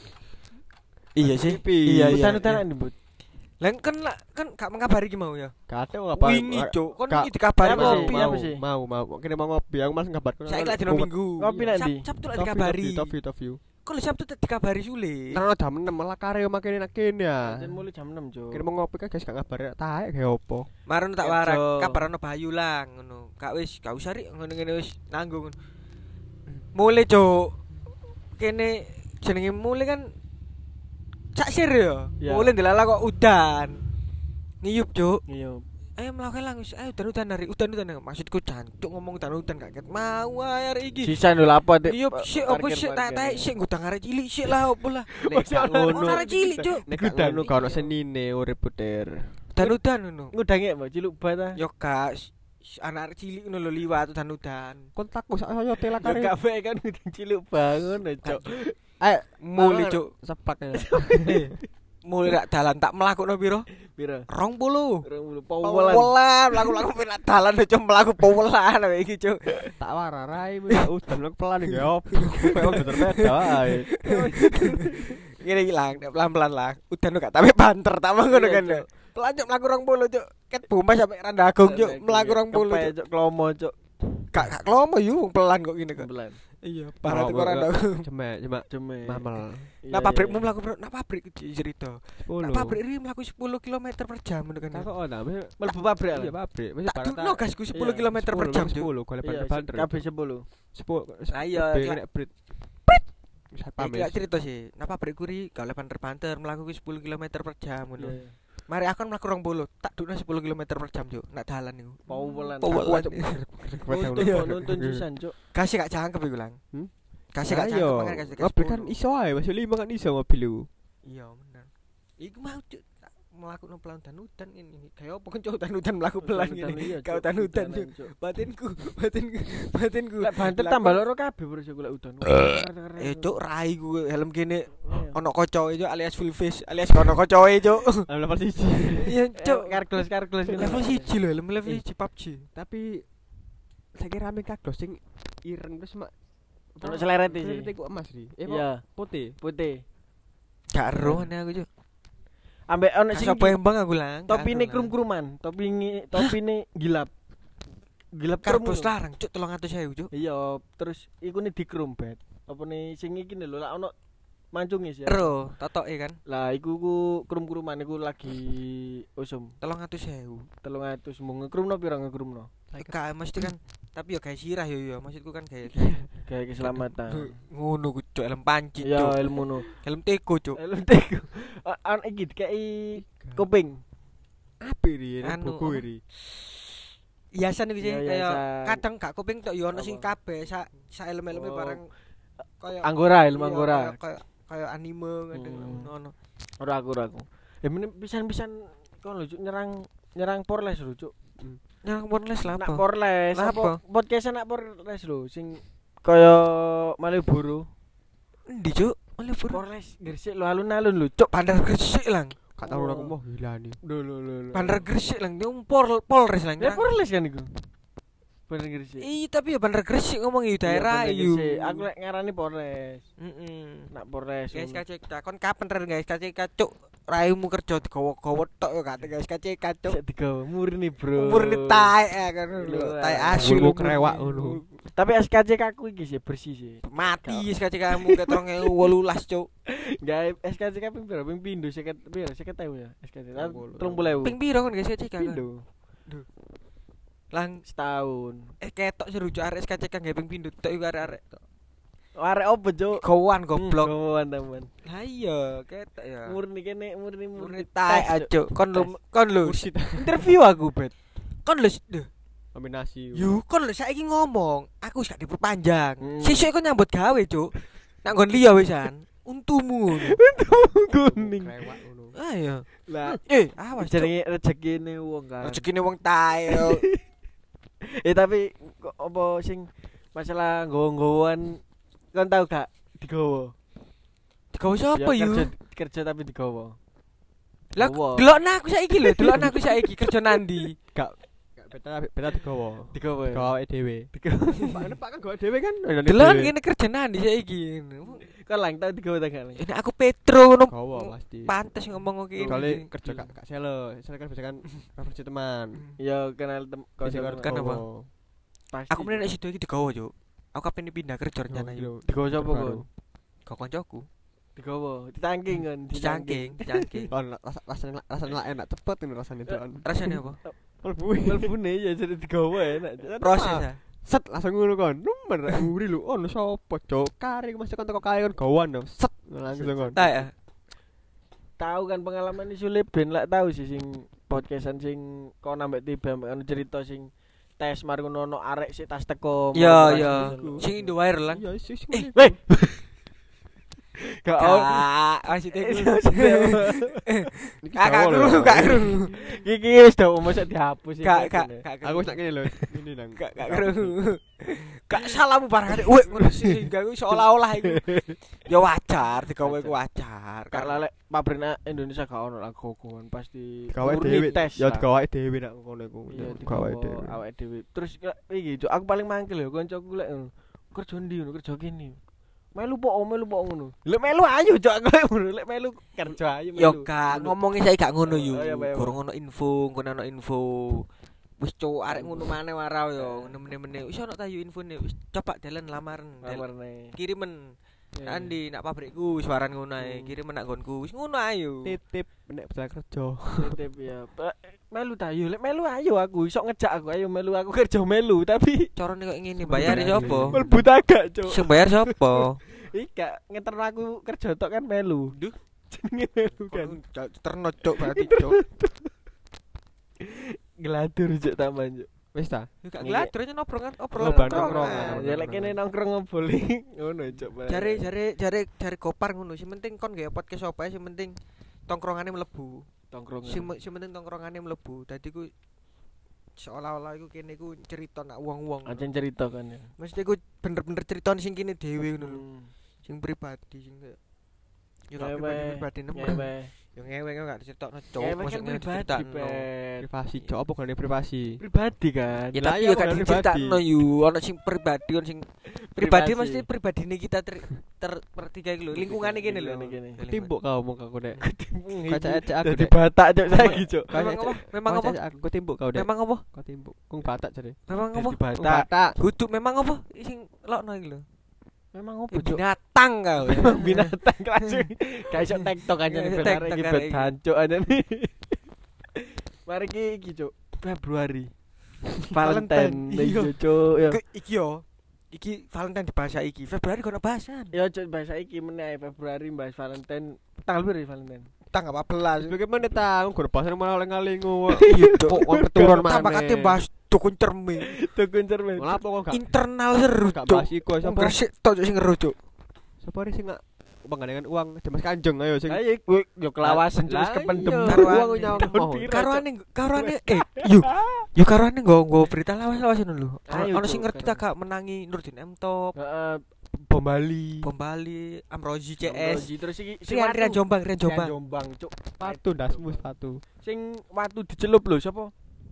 [SPEAKER 1] Iya sih.
[SPEAKER 3] Tipis.
[SPEAKER 1] Iya, iya.
[SPEAKER 2] Udan-udanan Bud.
[SPEAKER 1] Lah kan lah kan gak mengabari ki mau ya.
[SPEAKER 3] Gak ada apa.
[SPEAKER 1] Wingi cok, kon
[SPEAKER 3] Kak.
[SPEAKER 1] iki dikabari
[SPEAKER 2] Apa
[SPEAKER 3] Mau,
[SPEAKER 2] sih?
[SPEAKER 1] ngopi.
[SPEAKER 2] Apa
[SPEAKER 3] mau,
[SPEAKER 2] sih?
[SPEAKER 3] mau, mau. Kini mau ngopi, aku malas ngabar.
[SPEAKER 1] Saiki lagi dino minggu.
[SPEAKER 2] Ngopi nanti.
[SPEAKER 1] Sab- Sabtu lagi dikabari.
[SPEAKER 3] Top view, top view.
[SPEAKER 1] Kok lu Sabtu tak dikabari sule.
[SPEAKER 3] Karena jam enam malah kareo makin enak kene ya.
[SPEAKER 2] Jan mulai jam enam cuk.
[SPEAKER 3] Kini mau ngopi kan guys gak ngabar taek kayak opo.
[SPEAKER 1] Marono tak
[SPEAKER 2] Kerja.
[SPEAKER 1] warak, kabarano Bayu lang ngono. Gak wis, gak usah rik ngene-ngene wis nanggung. Mulai cok. Kene jenenge mulai kan cak sir ya.
[SPEAKER 2] Ya.
[SPEAKER 1] Mulai ndelala kok udan. Ngiyup cok.
[SPEAKER 2] Iya.
[SPEAKER 1] Ayo melakukan lang wis ayo udan-udan hari udan-udan maksudku jancuk ngomong udan-udan gak ket mau ae hari iki.
[SPEAKER 2] Sisa lho apa Dik?
[SPEAKER 1] Iya sik opo sik tak tak sik ngudang arek cilik sik lah opo lah.
[SPEAKER 3] Nek gak ngono.
[SPEAKER 1] Ono arek cilik cuk.
[SPEAKER 3] Nek gak ngono gak ono senine urip puter.
[SPEAKER 1] Udan-udan ngono.
[SPEAKER 2] Ngudange mbok ciluk bat ah.
[SPEAKER 1] Yo gak anak arek cilik ngono lho liwat udan-udan.
[SPEAKER 3] Kon takut sak saya hotel
[SPEAKER 2] Yo
[SPEAKER 3] kare.
[SPEAKER 2] gak bae kan ngudang ciluk bangun cuk.
[SPEAKER 3] Ayo
[SPEAKER 1] Muli cuk.
[SPEAKER 3] seplak ya.
[SPEAKER 1] Eh, Muli rak dalan tak mlakukno piro?
[SPEAKER 2] Piro?
[SPEAKER 1] rong puluh.
[SPEAKER 2] Rong
[SPEAKER 1] Powelan,
[SPEAKER 2] powelan.
[SPEAKER 1] mlaku-mlaku penak dalan cuk mlaku powelan wae iki cuk.
[SPEAKER 3] Tak wararai udan lek pelan iki opo. Memang bener-bener ae.
[SPEAKER 1] Ngene iki lang, pelan-pelan lah. Udan gak tapi banter tak ngono
[SPEAKER 2] Iya,
[SPEAKER 1] kan.
[SPEAKER 2] Cuk.
[SPEAKER 1] Pelan cuk mlaku rong puluh cuk. Ket Bomas sampe Randagung cuk mlaku rong puluh
[SPEAKER 2] Kepe,
[SPEAKER 1] cuk.
[SPEAKER 2] cuk klomo cuk.
[SPEAKER 1] Gak gak klomo yu pelan kok ngene kok.
[SPEAKER 2] Bulan.
[SPEAKER 1] Iya, parah tekan Randagung.
[SPEAKER 3] Cemek, cemek.
[SPEAKER 2] Ceme.
[SPEAKER 3] Mamel.
[SPEAKER 1] Nah pabrikmu mlaku piro? Nah pabrik iki cerita.
[SPEAKER 3] sepuluh.
[SPEAKER 1] Nah pabrik iki mlaku sepuluh kilometer per jam ngono kan.
[SPEAKER 3] Tak kok ana.
[SPEAKER 2] Mlebu pabrik.
[SPEAKER 3] Iya pabrik. Wis
[SPEAKER 1] Tak dukno gasku sepuluh
[SPEAKER 2] Iya,
[SPEAKER 1] kilometer per jam cuk.
[SPEAKER 3] sepuluh golek
[SPEAKER 2] Iya,
[SPEAKER 3] banter.
[SPEAKER 2] kabeh sepuluh.
[SPEAKER 3] sepuluh.
[SPEAKER 1] Lah iya,
[SPEAKER 3] Kabeh
[SPEAKER 1] Kak.
[SPEAKER 3] nek brit. Wis
[SPEAKER 1] Iki
[SPEAKER 3] pamit.
[SPEAKER 1] lak cerita sih. Nah pabrikku ri gak oleh banter-banter mlaku ki sepuluh kilometer per jam ngono.
[SPEAKER 2] Iya.
[SPEAKER 1] Mari aku kan mlaku rong puluh, tak dukno sepuluh kilometer per jam cuk. Nak dalan niku.
[SPEAKER 2] Powelan.
[SPEAKER 1] Powelan.
[SPEAKER 2] Nuntun kok nuntun sisan cuk.
[SPEAKER 1] Kasih gak cangkep iku lang.
[SPEAKER 3] Hmm?
[SPEAKER 1] Kasih gak
[SPEAKER 3] Ayo,
[SPEAKER 1] cangkep mangan kasih gak
[SPEAKER 3] mobil kan
[SPEAKER 1] sepuluh.
[SPEAKER 3] iso ae, masih lima kan iso mobil iku.
[SPEAKER 1] Iya bener. Iku mau cuk tak mlakuno pelan dan udan ini. Kayak opo kan cuk udan-udan mlaku pelan
[SPEAKER 2] Udan-udan,
[SPEAKER 1] ngene.
[SPEAKER 2] iya,
[SPEAKER 1] Kau
[SPEAKER 2] Cuk.
[SPEAKER 1] udan-udan
[SPEAKER 2] Udanan,
[SPEAKER 1] cuk.
[SPEAKER 2] Cuk.
[SPEAKER 1] Batinku, batinku, batinku.
[SPEAKER 2] Lek banter
[SPEAKER 1] Lah,
[SPEAKER 2] tambah
[SPEAKER 1] kok-
[SPEAKER 2] loro kabeh bro sik lek udan.
[SPEAKER 1] Eh cuk rai ku helm kene
[SPEAKER 2] Iya.
[SPEAKER 1] ono kocoe cuk alias full face alias ono kocoe cuk.
[SPEAKER 3] Level siji.
[SPEAKER 1] Iya cuk.
[SPEAKER 2] Kargles kargles
[SPEAKER 1] Level siji lho, helm level siji P U B G.
[SPEAKER 3] Tapi saya kira rame kagos sing ireng terus mak
[SPEAKER 2] Ono seleret sih.
[SPEAKER 3] Seleret iku emas ri. Eh
[SPEAKER 2] Iya,
[SPEAKER 3] putih.
[SPEAKER 2] putih.
[SPEAKER 1] Gak ero ane aku cuk.
[SPEAKER 2] Ambek ono sing
[SPEAKER 1] Sapa yang bang aku lang.
[SPEAKER 2] topine krum-kruman, topine topine gilap. Gilap krum.
[SPEAKER 1] karbos
[SPEAKER 2] ngono.
[SPEAKER 1] larang cuk tolong atus saya cuk.
[SPEAKER 2] Iya, terus iku ne dikrum bet. Apa ne sing iki lho lak ono mancunge sih.
[SPEAKER 1] Ero totoke kan
[SPEAKER 2] Lah iku ku krum-kruman iku lagi usum
[SPEAKER 1] tolong atus saya.
[SPEAKER 2] telung atus mung ngekrumno pira ngekrumno.
[SPEAKER 1] Gak mesti kan tapi yo gawe sirah yo yo maksudku kan gawe
[SPEAKER 2] Kayak keselamatan.
[SPEAKER 1] ngono ku cuk helm panci
[SPEAKER 2] Ya
[SPEAKER 1] cuk.
[SPEAKER 2] ilmu no.
[SPEAKER 1] Helm teko cuk.
[SPEAKER 2] Helm teko. An iki dikei kuping.
[SPEAKER 3] Apik ri,
[SPEAKER 1] Anu,
[SPEAKER 3] buku
[SPEAKER 1] apa?
[SPEAKER 3] ri.
[SPEAKER 1] Hiasan iki sih
[SPEAKER 2] Iya,
[SPEAKER 1] kayak
[SPEAKER 2] hiasan.
[SPEAKER 1] kadang gak kuping tok yo ono sing
[SPEAKER 2] Apa?
[SPEAKER 1] kabeh sa sa helm-helme
[SPEAKER 2] Oh.
[SPEAKER 1] barang kayak
[SPEAKER 2] Anggora, ilmu
[SPEAKER 1] iya,
[SPEAKER 2] anggora.
[SPEAKER 1] kayak- kayak kayak anime kadang
[SPEAKER 2] Hmm.
[SPEAKER 1] ono.
[SPEAKER 2] Ora aku ora aku. Ya men pisan-pisan kon lho Cuk, nyerang nyerang Porles lho Cuk.
[SPEAKER 1] Nyang porles lah
[SPEAKER 2] Nak
[SPEAKER 1] apa?
[SPEAKER 2] Porles
[SPEAKER 1] Lah
[SPEAKER 2] apa?
[SPEAKER 1] apa?
[SPEAKER 2] Podcast nak Porles lho sing kaya Malioboro.
[SPEAKER 1] Endi cuk? Malioboro.
[SPEAKER 2] Porles Gresik lho alun-alun lho Cuk.
[SPEAKER 1] Bandar Gresik lang.
[SPEAKER 3] Gak tau aku mau gila nih.
[SPEAKER 2] Lho lho lho.
[SPEAKER 1] Bandar Gresik lang, dia pol Polres lang.
[SPEAKER 2] Ya Porles kan iku. Bandar Gresik.
[SPEAKER 1] Iya tapi ya Bandar Gresik ngomong
[SPEAKER 2] Iya,
[SPEAKER 1] itu daerah
[SPEAKER 2] Bandar
[SPEAKER 1] iyo.
[SPEAKER 2] Gresik. Aku lek ngarani Porles.
[SPEAKER 1] Heeh.
[SPEAKER 2] Nak Porles.
[SPEAKER 1] Guys K C K kon kapan ren guys K C K cuk? Raimu kerja digowo-gowo tok yo gak guys K C K cuk.
[SPEAKER 2] Sik digawe murni, Bro.
[SPEAKER 1] Umur ni tae eh, kan lho,
[SPEAKER 2] Lho,
[SPEAKER 1] tae
[SPEAKER 2] ah.
[SPEAKER 1] asu
[SPEAKER 3] Ngulmu kerewak ngono.
[SPEAKER 2] Tapi S K C K aku iki sih bersih sih.
[SPEAKER 1] Mati S K C K kamu ke terong wolulas cuk.
[SPEAKER 2] Gawe S K C K ping piro? Ping pindho seket piro? seket ewu ya S K C K.
[SPEAKER 3] Puluh.
[SPEAKER 2] tiga puluh ewu.
[SPEAKER 1] Ping piro kon guys K C K? kan?
[SPEAKER 2] Pindho.
[SPEAKER 1] Lang
[SPEAKER 2] Setahun.
[SPEAKER 1] eh ketok seru cuk arek S K C K nggak ping pindho tok iku arek-arek.
[SPEAKER 2] Arek opo, Cuk?
[SPEAKER 1] Gowan goblok.
[SPEAKER 2] Gowoan teman.
[SPEAKER 1] Lah iya ketok ya.
[SPEAKER 2] Murni kene murni murni
[SPEAKER 1] Murni tae cuk. Kon lu kon lu
[SPEAKER 3] Kursi
[SPEAKER 2] interview aku, Bet.
[SPEAKER 1] kon lu duh.
[SPEAKER 3] nominasi.
[SPEAKER 1] Yu, kon lho saiki ngomong, aku wis gak diperpanjang.
[SPEAKER 2] Hmm.
[SPEAKER 1] Sesuk kon nyambut gawe, Cuk. Nak nggon liya wisan. Untumu.
[SPEAKER 2] Kuning.
[SPEAKER 3] Kerewak ngono.
[SPEAKER 1] Ayo.
[SPEAKER 2] Lah,
[SPEAKER 1] Eh, awas Cuk.
[SPEAKER 2] jenenge rezekine wong kan.
[SPEAKER 1] Rezekine wong tae. yo.
[SPEAKER 2] Eh tapi kok apa sing masalah nggowo-nggowoan kon tau gak digowo?
[SPEAKER 1] Digawe sapa
[SPEAKER 2] Ya,
[SPEAKER 1] yu?
[SPEAKER 2] Kerja, kerja tapi digowo.
[SPEAKER 1] Lah,
[SPEAKER 2] Gowo.
[SPEAKER 1] delokna aku saiki lho, delokna aku saiki kerja nandi.
[SPEAKER 3] Gak gak beta beta digowo.
[SPEAKER 2] Digowo. ya?
[SPEAKER 3] Gawe dhewe.
[SPEAKER 2] Digowo.
[SPEAKER 3] Pak Pak kan gawe dhewe kan.
[SPEAKER 1] Delok ngene kerja nandi saiki.
[SPEAKER 2] Kon lang tau digowo ta gak?
[SPEAKER 1] Ini aku Petro ngono.
[SPEAKER 3] Gawe pasti.
[SPEAKER 1] Pantes ngomong kok
[SPEAKER 3] Kali
[SPEAKER 1] ngene.
[SPEAKER 3] kerja gak gak sele. Sele kan biasa kan referensi teman.
[SPEAKER 2] Ya kenal tem
[SPEAKER 3] Bisa
[SPEAKER 2] kanca
[SPEAKER 1] kan apa?
[SPEAKER 2] pasti.
[SPEAKER 1] Aku meneh nek sido iki digawe, Cuk. Aku kapan pindah kerja rencana iki.
[SPEAKER 2] digowo sapa kon?
[SPEAKER 1] Kok koncoku.
[SPEAKER 2] Digowo, ditangking kon,
[SPEAKER 1] Dicangking, dicangking.
[SPEAKER 3] Oh, rasa rasanya rasanya enak cepet ini rasanya doan.
[SPEAKER 1] Rasane apa?
[SPEAKER 3] Mlebu.
[SPEAKER 2] Melbune ya jadi digowo enak.
[SPEAKER 1] Proses ah.
[SPEAKER 3] Set langsung ngono kon. Nomor nguri lu. Oh, sapa, Cuk? Kari masih kon teko kari kon gawan dong. Set langsung kon.
[SPEAKER 1] Tae. ah.
[SPEAKER 2] Tahu kan pengalaman isu lek ben lak tahu sih sing podcastan sing kon ambek tiba ambek ono cerita sing tes mari ngono ono arek sik tas teko.
[SPEAKER 1] Iya iya. Sing Indo viral kan.
[SPEAKER 3] Iya sih sing
[SPEAKER 1] Eh,
[SPEAKER 3] ngene.
[SPEAKER 2] Weh. Gak ono.
[SPEAKER 1] Kak, maksudnya
[SPEAKER 2] Eh,
[SPEAKER 1] iku.
[SPEAKER 3] Iki
[SPEAKER 1] Kak,
[SPEAKER 3] Jawa lho.
[SPEAKER 1] kru, kak kru.
[SPEAKER 2] Iki wis dah mosok dihapus iki.
[SPEAKER 1] Kak, kak, kak.
[SPEAKER 3] Aku sak ngene lho. Ini nang.
[SPEAKER 1] Kak, kak kru. Kak salahmu barang weh ngono sih, gak seolah-olah iku. Ya wajar, digawe iku wajar.
[SPEAKER 2] Kak lalek pabrik Indonesia gak ono lah gogoan pasti
[SPEAKER 3] Gawe
[SPEAKER 2] murni
[SPEAKER 3] dhewe.
[SPEAKER 2] tes
[SPEAKER 3] Ya
[SPEAKER 2] lah.
[SPEAKER 3] gawe dhewe nak ngono iku.
[SPEAKER 2] Iya
[SPEAKER 3] Gawe
[SPEAKER 2] digawe
[SPEAKER 3] dhewe.
[SPEAKER 2] awake dhewe. Terus kayak iki Cuk, aku paling mangkel ya kancaku lek ngono. Kerja ndi ngono, kerja kene. Melu po melu po ngono. Lek melu ayo Cuk aku lek ngono, lek melu kerja ayo melu.
[SPEAKER 1] Yo kak, ngomongin saya gak ngono yu.
[SPEAKER 2] Oh, iya, iya, iya.
[SPEAKER 1] Gorong ono info, ngono ono info. Wis cuk arek ngono maneh warau yo, ngono meneh-meneh. Wis ono ta yu infone, wis coba dalan lamaran. Del-
[SPEAKER 2] Lamarne.
[SPEAKER 1] Kirimen.
[SPEAKER 2] Iya.
[SPEAKER 1] Andi nak pabrikku wis waran ngono ae,
[SPEAKER 2] Hmm.
[SPEAKER 1] kirimen nak nggonku. Wis ngono ayo.
[SPEAKER 3] Titip nek bisa kerja.
[SPEAKER 2] Titip ya. Pa- Melu ta yo, lek melu ayo aku iso ngejak aku ayo melu aku kerja melu tapi
[SPEAKER 1] Carane kok ngene bayar sapa?
[SPEAKER 2] mlebu agak Cuk.
[SPEAKER 1] Sing bayar sapa?
[SPEAKER 2] Ika ngeterno aku kerja tok kan melu.
[SPEAKER 1] Duh.
[SPEAKER 2] Jenenge melu kan.
[SPEAKER 1] Terno cuk berarti cuk.
[SPEAKER 2] Geladur Cuk tambahan Cuk.
[SPEAKER 3] Wis ta?
[SPEAKER 1] Yo gak ngelatur aja nongkrongan, obrolan
[SPEAKER 3] Nongkrong,
[SPEAKER 1] nongkrongan.
[SPEAKER 3] nongkrong.
[SPEAKER 2] Ya lek kene nongkrong ngoboli ngono Cuk.
[SPEAKER 1] Jare jare jare jare Gopar ngono, sing penting kon gawe podcast apa ae sing penting tongkrongane mlebu.
[SPEAKER 2] tongkrong.
[SPEAKER 1] Sing sing penting tongkrongane mlebu. Dadi ku seolah-olah iku kene iku cerita nak wong-wong.
[SPEAKER 2] Ancen cerita kan ya.
[SPEAKER 1] Mesti ku bener-bener cerita sing kene dhewe ngono lho.
[SPEAKER 2] Hmm.
[SPEAKER 1] Sing pribadi sing kayak yo gak
[SPEAKER 2] Ngewe,
[SPEAKER 1] pribadi pribadi nemen.
[SPEAKER 2] ngewe.
[SPEAKER 1] Yo ngewe kok gak diceritakno cuk,
[SPEAKER 2] Ngewe
[SPEAKER 1] mosok
[SPEAKER 2] kan
[SPEAKER 1] ngene
[SPEAKER 2] pribadi,
[SPEAKER 1] diceritakno.
[SPEAKER 2] Pet.
[SPEAKER 3] Privasi, cok apa gane privasi?
[SPEAKER 2] Pribadi kan.
[SPEAKER 1] Ya
[SPEAKER 3] Lah,
[SPEAKER 1] tapi
[SPEAKER 3] iya,
[SPEAKER 1] yo
[SPEAKER 3] kok
[SPEAKER 1] gak
[SPEAKER 3] pribadi.
[SPEAKER 1] diceritakno yu, ono sing pribadi, ono sing pribadi
[SPEAKER 2] Privasi.
[SPEAKER 1] mesti pribadine kita ter, ter pertiga iki lho, lingkungane kene lho.
[SPEAKER 2] Lingkungane kene.
[SPEAKER 3] Timbuk kau mau aku nek.
[SPEAKER 2] Ketimbung
[SPEAKER 3] Kaca-kaca aku
[SPEAKER 2] Dadi
[SPEAKER 3] dek.
[SPEAKER 2] batak Cuk saiki Cuk.
[SPEAKER 1] Memang apa? Memang apa?
[SPEAKER 3] Kaca-kaca aku timbuk kau dek.
[SPEAKER 1] Memang apa?
[SPEAKER 3] Kau timbuk. Kung batak jare.
[SPEAKER 1] Memang apa?
[SPEAKER 2] Dadi
[SPEAKER 3] Kung
[SPEAKER 2] batak.
[SPEAKER 3] batak.
[SPEAKER 1] Kudu memang apa? Sing lokno iki lho.
[SPEAKER 2] Memang
[SPEAKER 1] Ya,
[SPEAKER 2] opo Cuk?
[SPEAKER 1] binatang kau.
[SPEAKER 2] Binatang langsung. Kayak iso TikTok aja nih
[SPEAKER 1] Ya,
[SPEAKER 2] benar
[SPEAKER 1] TikTok
[SPEAKER 2] iki
[SPEAKER 1] arek
[SPEAKER 2] bet
[SPEAKER 1] iki.
[SPEAKER 2] hancuk aja nih. Mari iki iki Cuk. Februari. Valentine
[SPEAKER 1] Valentine, iya.
[SPEAKER 2] iki Cuk. Ya.
[SPEAKER 1] Ke- Iki yo. Iki Valentine di bahasa iki. Februari kono bahasan.
[SPEAKER 2] Ya Cuk bahasa iki meneh Februari bahas Valentine. Tanggal berapa Valentine?
[SPEAKER 1] Tanggal empat belas.
[SPEAKER 3] Bagaimana tahu gur pasan malah ngalingu.
[SPEAKER 1] Iya, Cuk.
[SPEAKER 3] Kok kon keturun mana?
[SPEAKER 1] Tambah kate bahas dukun cermin.
[SPEAKER 2] Tukun cermin.
[SPEAKER 3] Malah apa kok gak
[SPEAKER 1] Internal seru,
[SPEAKER 3] gak
[SPEAKER 1] Cuk.
[SPEAKER 3] bahas iku sapa?
[SPEAKER 1] Gresik tok Cuk, sing ngeru, Cuk.
[SPEAKER 3] Sapa sih gak penggandengan uang Dimas Kanjeng ayo sing.
[SPEAKER 2] Ayo kowe yo kelawasan Cuk
[SPEAKER 3] Lah,
[SPEAKER 2] wis kependem.
[SPEAKER 3] iya,
[SPEAKER 1] Karuan.
[SPEAKER 3] uang nyawang
[SPEAKER 2] Tahun
[SPEAKER 3] mau.
[SPEAKER 2] piro?
[SPEAKER 1] Karuane karuane eh yo yo karuane nggo nggo berita lawas-lawas ngono lho.
[SPEAKER 2] Ayo,
[SPEAKER 1] Ono sing
[SPEAKER 2] Cuk,
[SPEAKER 1] ngerti
[SPEAKER 2] karuan.
[SPEAKER 1] tak gak menangi Nurdin M Top,
[SPEAKER 2] Heeh. Bom Bali.
[SPEAKER 1] Bom Bali, Amrozi C S.
[SPEAKER 2] Amrozi, terus iki
[SPEAKER 1] Rian Rian Jombang, Rian
[SPEAKER 2] Jombang.
[SPEAKER 1] Jombang.
[SPEAKER 2] Jombang Cuk.
[SPEAKER 3] Sepatu dasmu sepatu.
[SPEAKER 2] Sing watu dicelup lho sapa?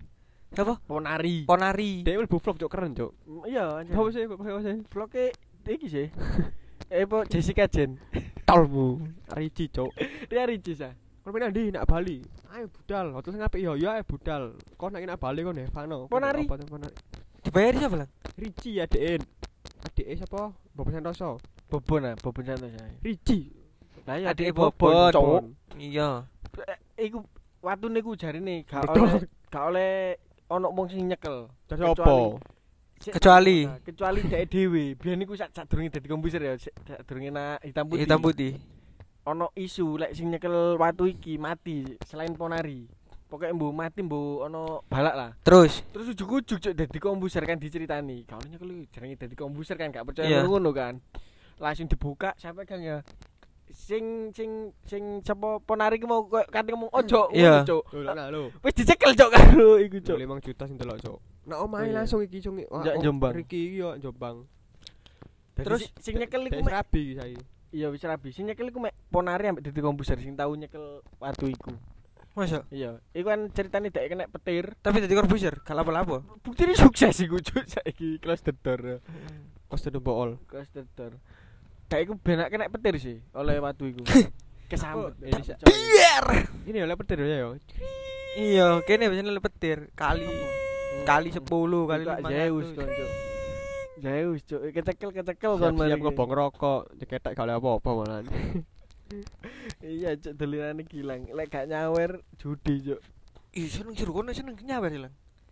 [SPEAKER 1] Apa?
[SPEAKER 2] Ponari.
[SPEAKER 1] Ponari.
[SPEAKER 3] Dia mlebu vlog cok keren cok.
[SPEAKER 2] Iya,
[SPEAKER 3] Apa sih apa sih?
[SPEAKER 2] vloge iki sih. Eh po Jessica Jen.
[SPEAKER 3] Tolmu. Riji cok.
[SPEAKER 2] Dia Ricis ah.
[SPEAKER 3] Kon pindah ndi nak Bali. Ayo budal. Hotel sing apik yo yo ayo budal. Kon nak nak Bali kon Nevano.
[SPEAKER 2] Ponari.
[SPEAKER 3] Apa Ponari?
[SPEAKER 1] Dibayar siapa lang?
[SPEAKER 3] Riji adeken. Adeke sapa? Bapak Santoso.
[SPEAKER 2] Bobon ah, Bobon Santos ya.
[SPEAKER 3] Riji.
[SPEAKER 2] Lah ya
[SPEAKER 1] Adike
[SPEAKER 2] adike
[SPEAKER 1] Bobon,
[SPEAKER 2] Bobon, Cuk.
[SPEAKER 3] Bobon.
[SPEAKER 1] Iya.
[SPEAKER 2] Eh, Iku watune ku jarine gak
[SPEAKER 3] Betul.
[SPEAKER 2] oleh gak oleh ono wong sing nyekel.
[SPEAKER 3] Jadi
[SPEAKER 2] Kecuali-
[SPEAKER 3] apa?
[SPEAKER 2] Sik-
[SPEAKER 1] Kecuali?
[SPEAKER 2] Nah, kecuali dhek dhewe. Biyen iku sak sadurunge dadi komputer ya, sik sadurunge na hitam putih.
[SPEAKER 1] Hitam putih.
[SPEAKER 2] Ono isu lek sing nyekel watu iki mati selain Ponari. Pokoke mbu mati mbu ono balak lah.
[SPEAKER 1] Terus
[SPEAKER 2] Terus ujug-ujug cuk dadi komputer kan diceritani. Kau nyekel jenenge dadi komputer kan gak percaya
[SPEAKER 1] Iya.
[SPEAKER 2] ngono kan. Langsung dibuka sampai kan ya. Sing sing sing sapa Ponari ki mau koyo kate ngomong ojo
[SPEAKER 1] Iya.
[SPEAKER 2] ngono cuk.
[SPEAKER 3] Lho lah lho.
[SPEAKER 2] Wis dicekel cuk karo iku cuk.
[SPEAKER 3] lima juta sing delok cok. Nak omahe
[SPEAKER 2] Iya.
[SPEAKER 3] langsung iki cuk.
[SPEAKER 2] Njak Jombang.
[SPEAKER 3] Iki iki yo Jombang.
[SPEAKER 2] Terus sing nyekel iku
[SPEAKER 3] Dek
[SPEAKER 2] mek
[SPEAKER 3] rabi saiki.
[SPEAKER 2] iya wis rabi. Sing nyekel iku mek Ponari ambek dadi komputer sing tau nyekel watu iku.
[SPEAKER 1] masa
[SPEAKER 2] Iya, iku kan ceritane dek kena petir.
[SPEAKER 1] tapi dadi korbuser, gak lapo-lapo.
[SPEAKER 2] Buktine sukses iku cuk saiki close the door.
[SPEAKER 3] Kos tedo bool.
[SPEAKER 2] Close the door. Dek iku benak kena petir sih oleh watu iku. Kesambet.
[SPEAKER 3] Oh, ini
[SPEAKER 2] Cuk.
[SPEAKER 1] Biar.
[SPEAKER 3] Ini oleh petir ya yo.
[SPEAKER 1] Iya, kene biasanya le petir kali kali sepuluh kali
[SPEAKER 2] Buka
[SPEAKER 1] lima
[SPEAKER 2] Zeus
[SPEAKER 1] ratus.
[SPEAKER 2] kon cuk. Zeus cuk, kecekel kecekel kon
[SPEAKER 3] Siap-siap
[SPEAKER 2] mari.
[SPEAKER 3] ngebong rokok, diketek gak oleh apa-apa malah.
[SPEAKER 2] Iya cuk dolinane gilang. Lek gak nyawer judi cuk.
[SPEAKER 1] Ih, seneng jero kono seneng nyawer lang.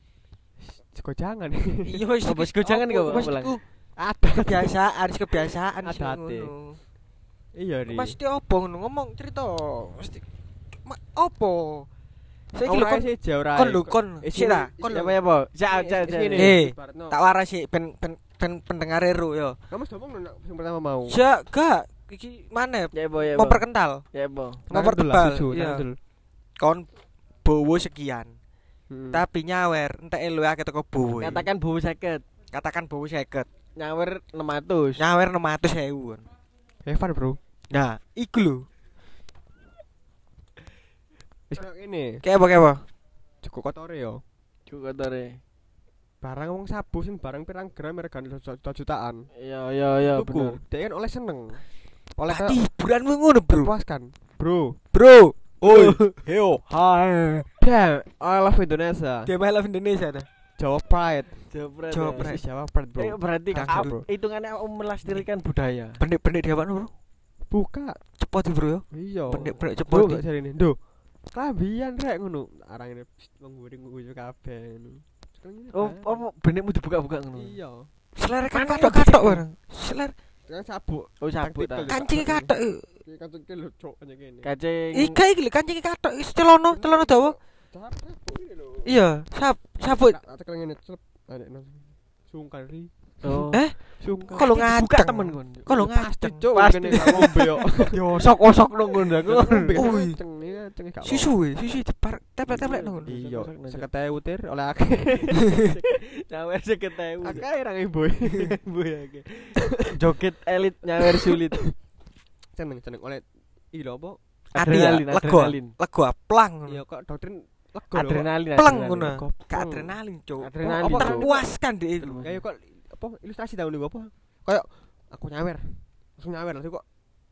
[SPEAKER 3] Kok jangan.
[SPEAKER 1] Iya wis
[SPEAKER 2] Apa, wis gojangan kok,
[SPEAKER 1] Mas
[SPEAKER 2] Lang?
[SPEAKER 1] iku
[SPEAKER 3] Ada.
[SPEAKER 1] kebiasaan, wis kebiasaan
[SPEAKER 3] Ada
[SPEAKER 1] sih
[SPEAKER 3] hati.
[SPEAKER 1] ngono.
[SPEAKER 3] Iya ri.
[SPEAKER 1] Mesti opo ngono ngomong cerita. Mesti Ma- opo? Saiki lho kon
[SPEAKER 3] sih jauh
[SPEAKER 1] kon lho kon
[SPEAKER 3] Eh,
[SPEAKER 1] sik ta
[SPEAKER 3] sini,
[SPEAKER 1] kon
[SPEAKER 2] Siapa
[SPEAKER 1] lho.
[SPEAKER 2] ya, Po? Cak cak cak.
[SPEAKER 3] Sini.
[SPEAKER 1] Eh,
[SPEAKER 3] Ibaratno.
[SPEAKER 1] tak waras sih ben ben ben pendengar ero yo.
[SPEAKER 3] Kamu sudah ngomong nak yang pertama mau.
[SPEAKER 1] Ja, gak iki mana
[SPEAKER 2] Ya, Po, ya, Po.
[SPEAKER 1] memperkental,
[SPEAKER 2] Ya, Po.
[SPEAKER 1] mempertebal.
[SPEAKER 3] Iya.
[SPEAKER 1] Iya. Kon bowo sekian,
[SPEAKER 3] Hmm.
[SPEAKER 1] tapi nyawer entek lu akeh teko bowo.
[SPEAKER 2] Katakan bowo seket.
[SPEAKER 1] katakan bowo seket.
[SPEAKER 2] Nyawer enam ratus.
[SPEAKER 1] Nyawer enam ratus ribu.
[SPEAKER 3] Evan, Bro.
[SPEAKER 1] Nah, iku lho.
[SPEAKER 3] Wis koyo ngene.
[SPEAKER 1] Kayak apa kayak apa?
[SPEAKER 3] Cukup kotore yo.
[SPEAKER 2] Cukup tore.
[SPEAKER 3] Barang wong sabu sing barang pirang gram regane jutaan.
[SPEAKER 2] Iya, iya, iya, bener.
[SPEAKER 3] Tuku, dia kan oleh seneng. Oleh
[SPEAKER 1] Tadi hiburanmu ngono, Bro.
[SPEAKER 3] terpuaskan. Bro.
[SPEAKER 1] Bro. Oi. Heo. Hai.
[SPEAKER 3] Damn, I love Indonesia.
[SPEAKER 1] Dia main love Indonesia dah.
[SPEAKER 3] Jawa Pride.
[SPEAKER 2] Jawa
[SPEAKER 1] Jawa
[SPEAKER 2] Pride.
[SPEAKER 1] Pride.
[SPEAKER 3] Isi Jawa Pride, Bro.
[SPEAKER 2] Eh, berarti
[SPEAKER 1] Kang,
[SPEAKER 2] ap-
[SPEAKER 1] bro.
[SPEAKER 2] hitungannya om melestarikan budaya.
[SPEAKER 1] Benik-benik dia apa, Bro?
[SPEAKER 3] Buka.
[SPEAKER 1] Cepot Bro yo.
[SPEAKER 3] Iya.
[SPEAKER 1] Benik-benik
[SPEAKER 3] Bro,
[SPEAKER 1] cepot.
[SPEAKER 3] gak jarine. Ndo. Klambian rek ngono. Arangane wong nguring-nguring kabeh ngono.
[SPEAKER 2] Oh, apa benekmu dibuka-buka ngono?
[SPEAKER 3] Iya.
[SPEAKER 1] Selera kan
[SPEAKER 2] Mana
[SPEAKER 1] katok-katok bareng. Selera
[SPEAKER 3] Kan sabuk.
[SPEAKER 2] Oh, sabuk ta.
[SPEAKER 3] Taktikal.
[SPEAKER 1] kancing katok.
[SPEAKER 3] Iki kantungke lho cok kaya ngene.
[SPEAKER 2] Kacing.
[SPEAKER 1] Ika iki lho kancing katok wis celono, celono dawa.
[SPEAKER 3] Sabuk ini lho.
[SPEAKER 1] Iya, sab sabut.
[SPEAKER 3] Tak tak tekel ngene celep. Adek nang sungkan ri.
[SPEAKER 2] Oh.
[SPEAKER 1] Eh,
[SPEAKER 3] Sungkan.
[SPEAKER 1] kalau
[SPEAKER 2] Dibuka
[SPEAKER 1] ngaceng
[SPEAKER 2] temen kon.
[SPEAKER 1] Kalau
[SPEAKER 3] Pasti
[SPEAKER 1] ngaceng.
[SPEAKER 3] cok
[SPEAKER 2] Pasti.
[SPEAKER 3] kene gak ngombe yo.
[SPEAKER 2] Yo sok-sok nang ngono aku.
[SPEAKER 1] Ui.
[SPEAKER 3] Ngaceng nih ngaceng gak.
[SPEAKER 1] Susu we, susu dipar teplet-teplet nang.
[SPEAKER 3] Iya, sekete utir oleh akeh.
[SPEAKER 2] Nyawer seket ewu.
[SPEAKER 3] Akeh ra boy.
[SPEAKER 2] Boy akeh. Joget elit nyawer sulit.
[SPEAKER 3] Seneng seneng oleh iki lho apa?
[SPEAKER 1] Ati ya,
[SPEAKER 2] Adrenalin,
[SPEAKER 1] lego.
[SPEAKER 2] adrenalin.
[SPEAKER 1] Lego plang.
[SPEAKER 3] Iya kok doktrin lego lho.
[SPEAKER 2] Adrenalin.
[SPEAKER 1] Pleng
[SPEAKER 2] adrenalin.
[SPEAKER 1] ngono.
[SPEAKER 3] Lego,
[SPEAKER 1] Gak
[SPEAKER 3] pleng.
[SPEAKER 1] adrenalin, Cuk.
[SPEAKER 2] Adrenalin,
[SPEAKER 3] Apa
[SPEAKER 2] Cuk.
[SPEAKER 1] Terpuaskan deh iku.
[SPEAKER 3] Ya ya kok apa ilustrasi tahun niku apa? Kayak aku nyawer. Langsung nyawer langsung kok.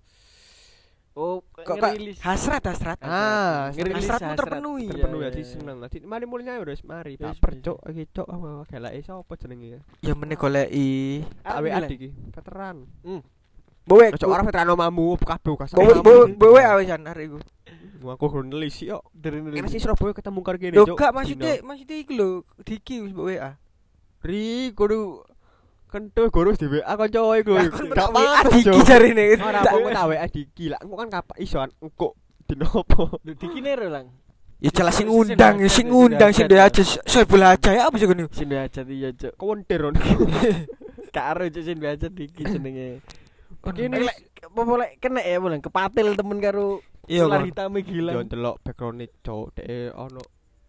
[SPEAKER 2] Oh,
[SPEAKER 1] Kok kok
[SPEAKER 2] ngerilis.
[SPEAKER 1] hasrat hasrat.
[SPEAKER 3] Ah,
[SPEAKER 2] ngerilis
[SPEAKER 1] hasratmu
[SPEAKER 2] hasrat.
[SPEAKER 1] terpenuhi.
[SPEAKER 2] Iya,
[SPEAKER 3] Terpenuhi
[SPEAKER 2] iya,
[SPEAKER 3] ati
[SPEAKER 2] iya.
[SPEAKER 3] seneng. Dadi mari mulai nyawer wis mari.
[SPEAKER 2] Wis,
[SPEAKER 3] Baper
[SPEAKER 2] wis.
[SPEAKER 3] cok iki cok apa gelake sapa jenenge ya?
[SPEAKER 1] Ya meneh goleki.
[SPEAKER 3] Tak W A iki, veteran.
[SPEAKER 1] Bowe.
[SPEAKER 3] Cok ora veteran omamu kabeh kas.
[SPEAKER 1] Bowe bowe bowe awesan arek iku.
[SPEAKER 3] Aku kurang nelisi kok.
[SPEAKER 2] Dari
[SPEAKER 3] Kene sih Surabaya ketemu karo kene
[SPEAKER 1] Lho
[SPEAKER 3] cok.
[SPEAKER 1] gak maksudnya maksudnya iku lho Diki wis mbok W A.
[SPEAKER 3] Ri kudu kentu gurus di W A kanca iku.
[SPEAKER 1] Gak apa Diki jarine.
[SPEAKER 3] Ora apa kok tak W A Diki lah. Engko kan kapak isoan engko dinopo.
[SPEAKER 2] Lu dikinero lang.
[SPEAKER 1] Ya jelas sing ngundang, sing ngundang sing duwe aja saya bola aja ya apa sih ngono.
[SPEAKER 2] Sing aja iya, Cuk.
[SPEAKER 3] Kewontir on.
[SPEAKER 2] Karo Cuk sing aja diki jenenge.
[SPEAKER 3] Kene
[SPEAKER 2] Lek apa lek kena ya bolang kepatil temen karo
[SPEAKER 1] Iya,
[SPEAKER 2] ular
[SPEAKER 1] Kon.
[SPEAKER 2] hitam
[SPEAKER 3] yo
[SPEAKER 2] gila.
[SPEAKER 3] ndelok background cok dhek ono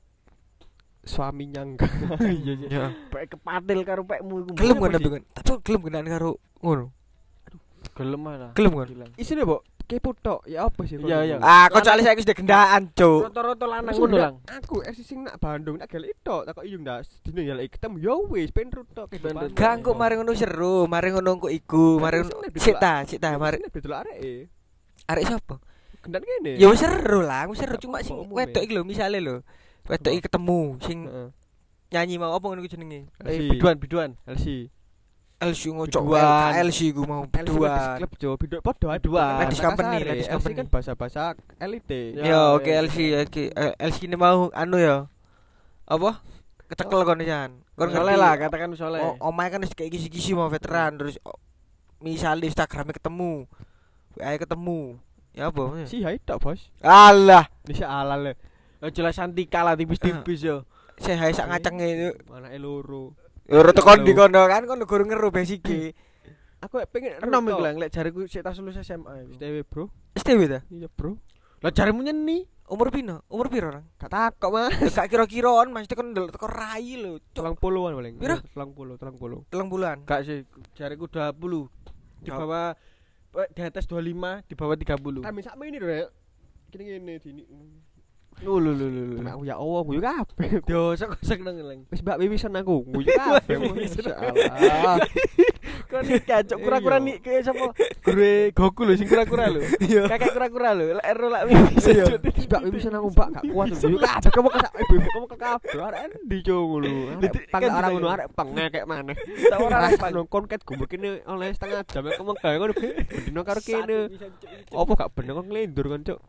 [SPEAKER 3] suaminya enggak.
[SPEAKER 2] Iya, Cuk.
[SPEAKER 1] Ya.
[SPEAKER 2] Pek kepatil karo pekmu iku.
[SPEAKER 1] Gelem kan tapi kan. Tapi gelem kenaan karo ngono.
[SPEAKER 2] Gelem malah.
[SPEAKER 1] Gelem kan.
[SPEAKER 2] Gilang.
[SPEAKER 3] Isine, Mbok, kepo tok. Ya apa sih?
[SPEAKER 2] Iya, iya.
[SPEAKER 1] Ah, kok soalnya saya wis gendaan, Cuk.
[SPEAKER 2] Rata-rata lanang
[SPEAKER 3] Wis
[SPEAKER 2] ngono
[SPEAKER 3] udah,
[SPEAKER 2] lang.
[SPEAKER 3] Aku eksi sing nak Bandung nak gelek tok, tak kok iyo ndak dino ya lek ketemu ya wis pengen tok
[SPEAKER 2] Pengen
[SPEAKER 3] kehidupan.
[SPEAKER 1] Gak engko mari ngono seru, mari ngono engko iku, mari ngono. Sik ta, sik ta, mari
[SPEAKER 3] betul arek.
[SPEAKER 1] arek sapa?
[SPEAKER 3] Gendan kene.
[SPEAKER 1] Ya wis seru lah, wis seru cuma
[SPEAKER 3] Apa
[SPEAKER 1] sing
[SPEAKER 3] umum
[SPEAKER 1] wedok
[SPEAKER 3] ya?
[SPEAKER 1] iki lho misale lho. Wedok iki ketemu sing
[SPEAKER 3] Heeh.
[SPEAKER 1] nyanyi mau apa ngono iku jenenge?
[SPEAKER 2] Eh, biduan, biduan.
[SPEAKER 3] L C.
[SPEAKER 1] L C ngocok
[SPEAKER 2] Biduan.
[SPEAKER 1] L C ku mau biduan.
[SPEAKER 3] Klub Jo, biduk podo ae
[SPEAKER 2] Biduan.
[SPEAKER 1] Ladies company,
[SPEAKER 3] L
[SPEAKER 1] ladies
[SPEAKER 3] C
[SPEAKER 1] company.
[SPEAKER 3] kan bahasa-bahasa elite.
[SPEAKER 2] Ya,
[SPEAKER 1] Ya oke
[SPEAKER 2] ya,
[SPEAKER 1] L C oke Eh, L C ini mau anu ya. Apa? Kecekel kon jan. Kon
[SPEAKER 2] Soleh
[SPEAKER 1] ngerti
[SPEAKER 2] lah, katakan soleh.
[SPEAKER 1] O- Omae kan wis kayak gisi-gisi mau veteran terus o- misalnya Instagramnya ketemu, W A ketemu. Ya apa?
[SPEAKER 3] Si hai tok, Bos.
[SPEAKER 1] Alah,
[SPEAKER 3] Bisa ala le.
[SPEAKER 2] Oh, jelas Santika lah tipis-tipis yo.
[SPEAKER 1] saya hai sak ngacenge.
[SPEAKER 3] Anake loro.
[SPEAKER 1] Ya ora tekon di kono kan kon guru ngeru basike.
[SPEAKER 3] Aku pengen
[SPEAKER 2] Enom iku lang, lek jariku sik tas lulus S M A iku.
[SPEAKER 3] S T W, Bro.
[SPEAKER 1] S T W ta?
[SPEAKER 3] Iya, Bro.
[SPEAKER 2] Lah jarimu nyeni.
[SPEAKER 1] Umur pino? Umur piro orang?
[SPEAKER 3] Gak takok, Mas.
[SPEAKER 1] Ya gak kira-kiraan maksudnya kon ndelok teko rai lho. Cok,
[SPEAKER 3] Tulang puluhan paling.
[SPEAKER 1] Piro?
[SPEAKER 3] Tulang puluh, tulang puluh.
[SPEAKER 1] telung bulan.
[SPEAKER 2] Gak sih, jariku dua puluh. Di
[SPEAKER 1] Gak-
[SPEAKER 2] bawah eh, di atas dua puluh lima, di bawah tiga puluh.
[SPEAKER 3] Kami sak ini lho, Rek. Gini-gini dini.
[SPEAKER 2] Lu lu lu lu.
[SPEAKER 3] Aku ya Allah, guyu kabeh.
[SPEAKER 2] Yo sok-sok nang lang.
[SPEAKER 3] Wis Mbak wiwisan aku, guyu kabeh. Masyaallah.
[SPEAKER 2] Kon kacok kura-kura nik ke sapa? Guru Goku lho sing kura-kura lho.
[SPEAKER 1] Iya.
[SPEAKER 2] Kakek kura-kura lho, lek ero lak wis.
[SPEAKER 1] Iya.
[SPEAKER 3] Wis Mbak wiwisan aku, Mbak, gak kuat guyu kabeh. Kamu kesak ibu, kamu ke kabeh. Arek endi cuk ngono. Arek pang
[SPEAKER 2] Kan
[SPEAKER 3] arek
[SPEAKER 2] gitu
[SPEAKER 3] ngono,
[SPEAKER 2] ya.
[SPEAKER 3] arek pengekek maneh.
[SPEAKER 2] Tak ora
[SPEAKER 3] Ora
[SPEAKER 2] pang.
[SPEAKER 3] nongkon ket gumbul kene oleh setengah jam kamu gawe ngono. Bendino karo kene. Apa gak bener kok nglendur kan, Cuk?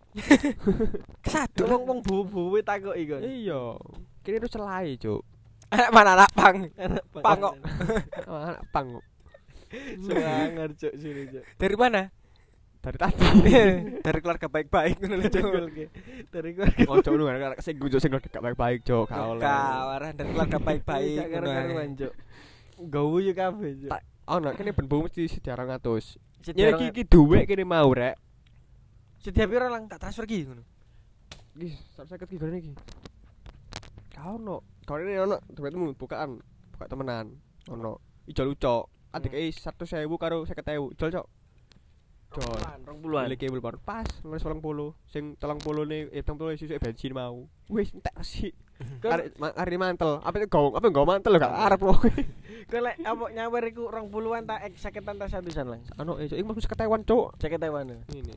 [SPEAKER 1] Kesatu.
[SPEAKER 2] Wong-wong bubu-bubu takoki kon.
[SPEAKER 3] Iya. Kene itu celai, Cuk.
[SPEAKER 1] Anak mana anak pang? Pang kok.
[SPEAKER 3] Anak pang.
[SPEAKER 2] Sangar cuk sini cuk.
[SPEAKER 1] Dari mana?
[SPEAKER 3] dari tadi.
[SPEAKER 1] Dari keluarga baik-baik ngono lho, Cuk.
[SPEAKER 2] Dari keluarga
[SPEAKER 3] Ojo nu arek sing gujuk sing gak baik-baik, Cuk. Gak oleh.
[SPEAKER 1] Kawaran dari keluarga baik-baik
[SPEAKER 2] gak
[SPEAKER 1] ngono ae.
[SPEAKER 2] karuan cuk. Gawu yo kabeh cuk.
[SPEAKER 3] Tak ono kene ben bu mesti sediarang atus.
[SPEAKER 2] Sediarang-
[SPEAKER 3] Ya iki iki dhuwit kene mau rek.
[SPEAKER 2] Setiap piro lang?
[SPEAKER 1] Tak transfer ki ngono.
[SPEAKER 3] Iki seratus lima puluh ki gone iki. Kau ono, kau ini ono dhuwitmu bukaan, buka temenan. Ono ijol ucok. Adik e seratus ribu karo seket ribu. Ijol, Cok. Jol.
[SPEAKER 2] rong puluhan.
[SPEAKER 3] Beli kabel baru pas nulis telung puluh. Sing telung puluh ne eh telung puluh sisuk bensin mau. Wis entek sih. Arek ma- arek mantel. Apa itu gong? Apa nggo mantel lho gak arep lho.
[SPEAKER 2] Kok lek apa nyawer iku rong puluhan tak ek saketan tak satusan lang.
[SPEAKER 3] Ano eh Cok, iki mesti seket ribuan, Cok.
[SPEAKER 2] Jaket Taiwan.
[SPEAKER 3] Ini.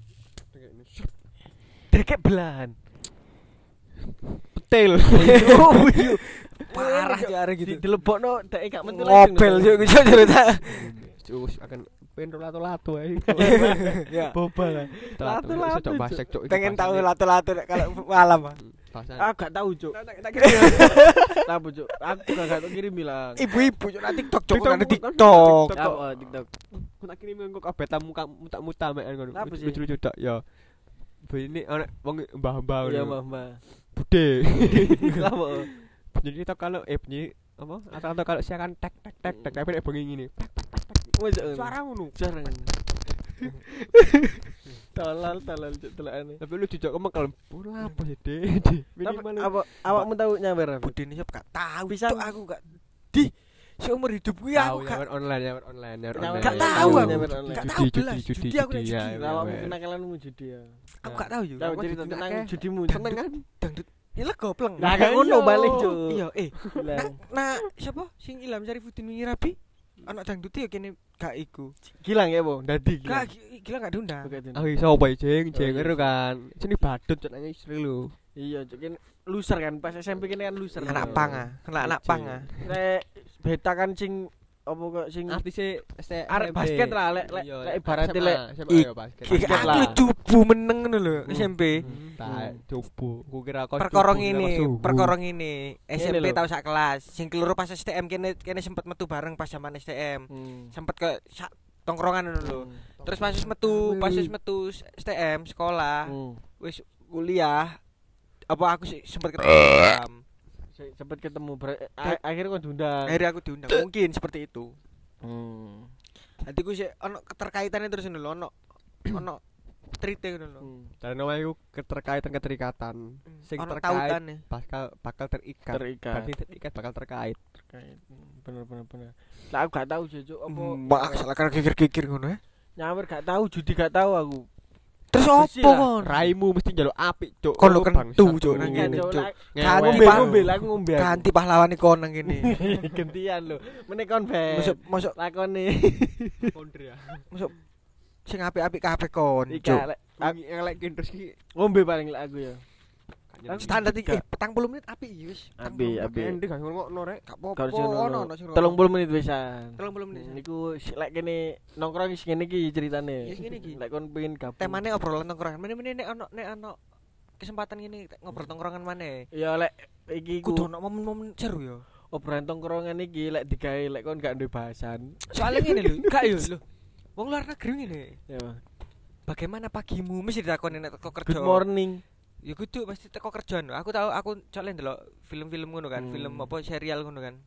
[SPEAKER 2] Dekek belahan.
[SPEAKER 3] Petil.
[SPEAKER 2] Oh iya.
[SPEAKER 1] Parah jare gitu.
[SPEAKER 2] Dilebokno dek gak metu
[SPEAKER 1] Ngopel yo iku cerita.
[SPEAKER 3] Cuk akan pengen lato-lato ae.
[SPEAKER 1] Ya.
[SPEAKER 2] Boba lah.
[SPEAKER 3] Lato-lato Cok basek, Cok.
[SPEAKER 1] Pengen tahu lato-lato nek kalau malam.
[SPEAKER 3] Bahasan.
[SPEAKER 2] Ah gak tahu cuk.
[SPEAKER 3] Tak kira.
[SPEAKER 2] Tahu cuk. Aku juga gak tau kirim bilang.
[SPEAKER 1] Ibu-ibu yo nang TikTok, Cuk,
[SPEAKER 3] TikTok,
[SPEAKER 1] nang
[SPEAKER 3] TikTok.
[SPEAKER 1] TikTok.
[SPEAKER 3] TikTok.
[SPEAKER 2] Apa TikTok?
[SPEAKER 3] Aku tak kirim engko kabeh tamu muta-muta mek ngono.
[SPEAKER 2] Apa sih?
[SPEAKER 3] Lucu-lucu tok ya. Ini ana wong mbah-mbah
[SPEAKER 2] Iya
[SPEAKER 3] ngono.
[SPEAKER 2] mbah-mbah.
[SPEAKER 3] Bude.
[SPEAKER 2] Apa?
[SPEAKER 3] Jadi tok kalau eh bunyi apa? Atau kalau siaran tek tek tek tek tapi nek bengi ngene.
[SPEAKER 2] Wes
[SPEAKER 3] Suara ngono.
[SPEAKER 2] jarang. Tolol tolol cuk telakane.
[SPEAKER 3] Tapi lu dijak kemeng kalem. Ora apa sih, Dek?
[SPEAKER 2] Tapi
[SPEAKER 3] Minimal.
[SPEAKER 2] apa awakmu tahu nyawer apa?
[SPEAKER 1] Budene yo gak tahu,
[SPEAKER 2] Bisa-
[SPEAKER 1] Cuk, aku gak di seumur hidup gue aku
[SPEAKER 3] Tahu
[SPEAKER 1] gak
[SPEAKER 3] nyawer online, nyawer online, nyawer
[SPEAKER 2] Nyawer
[SPEAKER 3] online.
[SPEAKER 1] gak
[SPEAKER 2] online.
[SPEAKER 1] tahu aku.
[SPEAKER 2] Nyawer online.
[SPEAKER 1] Gak
[SPEAKER 3] Judi,
[SPEAKER 1] tahu
[SPEAKER 3] judi,
[SPEAKER 1] belas.
[SPEAKER 3] judi,
[SPEAKER 1] Judi aku nek
[SPEAKER 3] judi,
[SPEAKER 1] judi.
[SPEAKER 3] ya.
[SPEAKER 2] Awakmu
[SPEAKER 3] wes.
[SPEAKER 2] kenakalanmu judi ya.
[SPEAKER 1] Aku gak tahu yo.
[SPEAKER 2] Tahu
[SPEAKER 3] Aku
[SPEAKER 2] cerita
[SPEAKER 3] judi
[SPEAKER 2] tentang
[SPEAKER 3] akeh.
[SPEAKER 2] judimu.
[SPEAKER 3] Seneng kan?
[SPEAKER 1] Dangdut. Ya lego pleng.
[SPEAKER 2] Nah, gak ngono balik cuk.
[SPEAKER 1] Iya, eh.
[SPEAKER 2] Bilang.
[SPEAKER 1] Nah, siapa sing Ilham Syarifuddin wingi rapi? Anak dangdut ya kene gak iku.
[SPEAKER 2] Gilang ya, Bo. Dadi
[SPEAKER 1] Gak
[SPEAKER 2] gilang.
[SPEAKER 1] gi- gila gak diundang.
[SPEAKER 2] Oke, Din.
[SPEAKER 3] Ah iso apa jeng jeng
[SPEAKER 2] Oh, iya.
[SPEAKER 3] ngeru kan. Sini badut cok nanya istri lu.
[SPEAKER 2] Iya, cuk kan loser kan pas S M P kene kan loser.
[SPEAKER 1] Anak pang ah, anak pang ah.
[SPEAKER 2] Nek beta kan sing apa kok sing
[SPEAKER 3] Artisnya S T
[SPEAKER 2] arek basket lah lek lek
[SPEAKER 3] Iya,
[SPEAKER 2] lek ibaratnya lek
[SPEAKER 1] Ik-
[SPEAKER 3] basket.
[SPEAKER 1] Ki
[SPEAKER 2] Basket
[SPEAKER 1] aku
[SPEAKER 2] lah.
[SPEAKER 1] lu cupu meneng ngono lho
[SPEAKER 2] Hmm.
[SPEAKER 1] S M P.
[SPEAKER 3] Tak coba. Ku kira kau
[SPEAKER 1] Perkara ngene, perkara ngene. S M P
[SPEAKER 2] Ngene lho.
[SPEAKER 1] tau sak kelas. Sing keloro pas S T M kene kene sempet metu bareng pas zaman S T M.
[SPEAKER 2] Hmm.
[SPEAKER 1] Sempet ke sak tongkrongan ngono lho.
[SPEAKER 2] Hmm.
[SPEAKER 1] Terus pas wis metu, pas wis metu S T M sekolah,
[SPEAKER 2] Hmm.
[SPEAKER 1] wis kuliah. Apa aku sih sempet ketemu Ilham.
[SPEAKER 2] Se- Sempet ketemu ber- a- akhirnya kok diundang.
[SPEAKER 1] Akhirnya aku diundang. Mungkin seperti itu.
[SPEAKER 2] Hmm.
[SPEAKER 1] Nanti ku sih ono keterkaitannya terus ngono lho, ono ono trite ngono lho.
[SPEAKER 2] Hmm.
[SPEAKER 3] Dan namanya itu keterkaitan keterikatan. Sing
[SPEAKER 1] Ono
[SPEAKER 3] terkait
[SPEAKER 1] tautane.
[SPEAKER 3] bakal bakal terikat.
[SPEAKER 2] Terikat.
[SPEAKER 3] Berarti terikat bakal terkait.
[SPEAKER 2] Terkait. Bener bener bener. Lah aku gak tahu sih, Cuk, apa
[SPEAKER 1] Mbak salah kan kikir-kikir ngono ya.
[SPEAKER 2] nyawer gak tahu, judi gak tahu aku.
[SPEAKER 1] Terus
[SPEAKER 2] Bersih
[SPEAKER 1] opo
[SPEAKER 2] lah.
[SPEAKER 1] kon?
[SPEAKER 3] Raimu mesti njaluk apik, Cuk.
[SPEAKER 1] Kon lu
[SPEAKER 3] Oh,
[SPEAKER 1] kentu,
[SPEAKER 3] bangsat,
[SPEAKER 1] Cuk,
[SPEAKER 3] lu.
[SPEAKER 1] nang
[SPEAKER 2] Iya,
[SPEAKER 1] ngene,
[SPEAKER 2] Cuk.
[SPEAKER 1] Cuk.
[SPEAKER 2] lah-
[SPEAKER 1] Kan
[SPEAKER 2] Ngombe
[SPEAKER 1] Bang.
[SPEAKER 2] ngombe lah, aku ngombe. aku.
[SPEAKER 1] Ganti pahlawan kon nang kene.
[SPEAKER 2] Gantian lho. Meneh kon ben.
[SPEAKER 1] Masuk masuk
[SPEAKER 2] Lakone.
[SPEAKER 3] Kondre ya.
[SPEAKER 1] masuk sing apik-apik kabeh kon.
[SPEAKER 2] Iki
[SPEAKER 1] Cuk.
[SPEAKER 2] lek
[SPEAKER 3] Aku ngelek terus ki.
[SPEAKER 2] ngombe paling lek aku ya.
[SPEAKER 1] Standar iki eh petang puluh menit apik iki wis.
[SPEAKER 2] Apik, apik.
[SPEAKER 3] Endek gak ngono rek.
[SPEAKER 1] Gak apa-apa.
[SPEAKER 2] Kalau sing
[SPEAKER 1] Ono
[SPEAKER 2] ono
[SPEAKER 1] ono sing
[SPEAKER 2] telung puluh menit wisan.
[SPEAKER 1] telung puluh menit.
[SPEAKER 2] Niku lek kene nongkrong wis ngene iki ceritane.
[SPEAKER 1] Ya, ngene iki.
[SPEAKER 2] Lek kon pengen gabung.
[SPEAKER 1] Temane obrolan tongkrongan. Meneh-meneh nek ono nek ono kesempatan ngene ngobrol tongkrongan maneh.
[SPEAKER 2] Ya lek iki
[SPEAKER 1] Kudu
[SPEAKER 2] ku
[SPEAKER 1] ono momen-momen seru ya.
[SPEAKER 2] obrolan tongkrongan iki lek digawe lek kon gak duwe bahasan.
[SPEAKER 1] Soalnya ngene lho, gak yo lho. Wong luar negeri ngene.
[SPEAKER 2] Ya.
[SPEAKER 1] Bagaimana pagimu? Mesti ditakoni nek teko kerja.
[SPEAKER 2] Good morning.
[SPEAKER 1] Ya kudu pasti teko kerjaan. Aku tahu aku soalnya ndelok film-film ngono kan,
[SPEAKER 2] Hmm.
[SPEAKER 1] film apa serial ngono kan.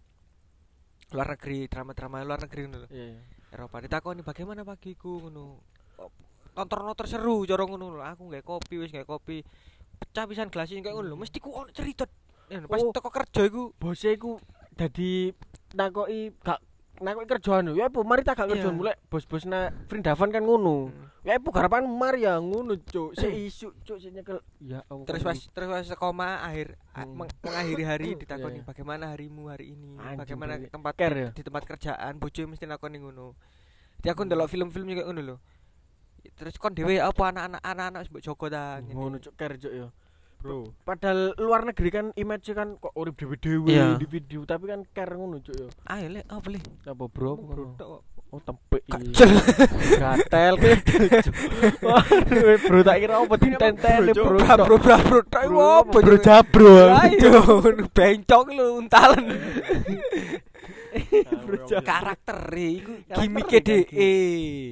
[SPEAKER 1] Luar negeri, drama-drama luar negeri ngono lho.
[SPEAKER 2] Iya. iya.
[SPEAKER 1] Eropa ditakoni bagaimana pagiku ngono. Tonton-tonton seru cara ngono lho. Aku nggae kopi wis nggae kopi. Pecah pisan gelas kayak ngono lho. Mesti ku ono cerita. Ya, pas
[SPEAKER 2] Oh.
[SPEAKER 1] teko kerja iku
[SPEAKER 2] Bose iku dadi nakoki gak nakoki kerjaan lho. Ya apa mari tak gak kerjaan
[SPEAKER 1] Iya.
[SPEAKER 2] mulai bos-bos na Vrindavan kan ngono. Ya apa garapan mari ya ngono cuk. Sik isu cuk sik nyekel. Ya Allah.
[SPEAKER 1] terus pas terus pas koma akhir a-
[SPEAKER 2] Hmm.
[SPEAKER 1] meng- mengakhiri hari
[SPEAKER 2] Iya,
[SPEAKER 1] ditakoni
[SPEAKER 2] iya.
[SPEAKER 1] bagaimana harimu hari ini,
[SPEAKER 2] Anjing,
[SPEAKER 1] bagaimana
[SPEAKER 2] berarti
[SPEAKER 1] tempat
[SPEAKER 2] care ya?
[SPEAKER 1] di tempat kerjaan, bojo mesti nakoni ngono. Jadi aku
[SPEAKER 2] Hmm.
[SPEAKER 1] ndelok film-film juga ngono lho. Terus kon dhewe apa anak-anak anak-anak mbok jogo ta ngene.
[SPEAKER 2] ngono cuk ker cuk ya.
[SPEAKER 3] Bro.
[SPEAKER 2] Padahal luar negeri kan image kan kok urip dhewe-dhewe
[SPEAKER 1] Iya.
[SPEAKER 2] di video tapi kan care ngono cuk ya.
[SPEAKER 1] Ayo lek apa le?
[SPEAKER 2] Apa bro?
[SPEAKER 1] Bro,
[SPEAKER 2] Bro.
[SPEAKER 1] tok.
[SPEAKER 2] Oh tempek iki.
[SPEAKER 1] Kacel.
[SPEAKER 2] Gatel cuk. Waduh, bro tak kira apa tinten-ten bro.
[SPEAKER 1] Bro, bro, bro, bro, tok iku apa?
[SPEAKER 2] Bro jabro.
[SPEAKER 1] Ayo, bencong lho untalan.
[SPEAKER 2] Bro jabro.
[SPEAKER 1] Karakter iku
[SPEAKER 2] Karakter
[SPEAKER 1] gimike
[SPEAKER 2] kan,
[SPEAKER 1] dhek.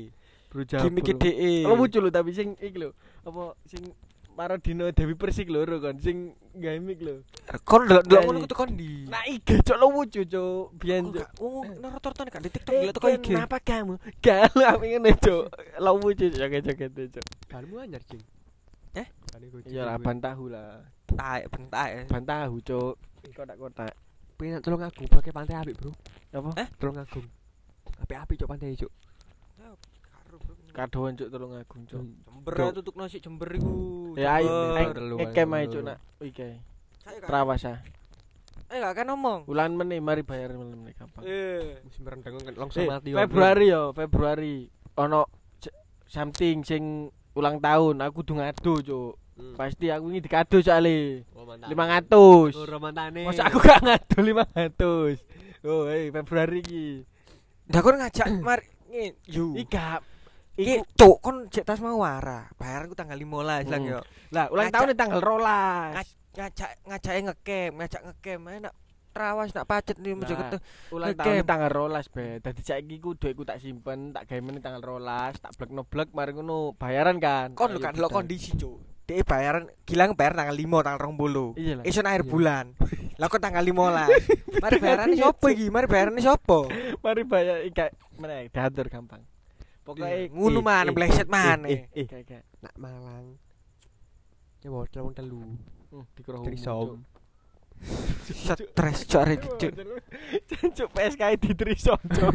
[SPEAKER 2] Bro Jabul.
[SPEAKER 1] Gimik dhek.
[SPEAKER 2] Kalau lucu lho tapi sing iki lho. Apa sing Parodino Dewi Persik loro kon sing gimik lho.
[SPEAKER 1] Kon delok ngono ku tekon ndi?
[SPEAKER 2] Nah iki cok lucu cok. Biyen cok.
[SPEAKER 1] Oh, rata-rata nek di TikTok delok tekon iki.
[SPEAKER 2] Kenapa kamu? Galu aku ngene cok. Lucu joget-joget cok.
[SPEAKER 3] Kanmu anyar, Cing.
[SPEAKER 1] Eh?
[SPEAKER 2] Ya lah ban tahu lah.
[SPEAKER 1] Taek bentak.
[SPEAKER 2] Ban tahu cok. Kotak-kotak.
[SPEAKER 3] Pengen Tulung Agung pakai pantai apik, Bro.
[SPEAKER 2] Apa?
[SPEAKER 1] Eh?
[SPEAKER 3] Tulung Agung. Apik-apik cok pantai cok.
[SPEAKER 2] Kadoan cuk Tulung Agung cuk.
[SPEAKER 1] Jember tutuk nasi Jember iku.
[SPEAKER 2] Ya ayo
[SPEAKER 3] telu,
[SPEAKER 2] ngkem ae
[SPEAKER 3] telu.
[SPEAKER 2] cuk nak iki.
[SPEAKER 1] Saya gak.
[SPEAKER 2] Trawasa.
[SPEAKER 1] Eh gak kan ngomong.
[SPEAKER 2] Bulan meneh mari bayar meneh gampang.
[SPEAKER 1] Eh.
[SPEAKER 3] Musim rendang kan langsung
[SPEAKER 2] Eh,
[SPEAKER 3] mati.
[SPEAKER 2] Februari yo, Februari. Ono c- something sing ulang tahun aku kudu ngado cuk.
[SPEAKER 3] Hmm.
[SPEAKER 2] Pasti aku ini dikado soalnya
[SPEAKER 3] Oh, mantap.
[SPEAKER 2] lima ratus.
[SPEAKER 3] Loro mantane.
[SPEAKER 2] Masa aku gak ngado lima ratus. Oh, hei Februari iki.
[SPEAKER 1] Dah kon ngajak mar ngene. Yo.
[SPEAKER 2] Ika
[SPEAKER 1] Iki
[SPEAKER 2] iku
[SPEAKER 1] cuk kon cek tas mau wara. Bayaranku tanggal lima belas lang
[SPEAKER 2] Hmm.
[SPEAKER 1] yo.
[SPEAKER 2] lah ulang
[SPEAKER 1] Ngajak-
[SPEAKER 2] tahun tanggal rolas.
[SPEAKER 1] Ngaj- Ngajak ngajake ngecamp, ngajak ngecamp enak. Trawas nak pacet nih mojo
[SPEAKER 2] Nah,
[SPEAKER 1] ketemu.
[SPEAKER 2] Ulang
[SPEAKER 1] Ngecamp.
[SPEAKER 2] tahun tanggal rolas be. Dadi saiki ku duitku tak simpen, tak gawe meneh tanggal rolas, tak blek-blek mari ngono bayaran kan.
[SPEAKER 1] Kon lho kan delok kondisi cuk. Dek bayaran gilang bayar tanggal lima tanggal dua puluh.
[SPEAKER 2] Iya lah.
[SPEAKER 1] Isun akhir
[SPEAKER 3] Iya.
[SPEAKER 1] bulan. Lah kok tanggal lima belas. Mari bayarane sapa iki? Mari bayarane sapa?
[SPEAKER 2] Mari bayar iki meneh diatur gampang. Pokoke
[SPEAKER 1] Ngono man, bleset man.
[SPEAKER 3] Eh, eh,
[SPEAKER 2] Kayak kayak
[SPEAKER 3] nak Malang. Ya hotel wong telu.
[SPEAKER 2] hmm, dikira
[SPEAKER 3] Trisom.
[SPEAKER 1] Stres cuk arek cuk.
[SPEAKER 2] Cuk P S K di Trisom cuk.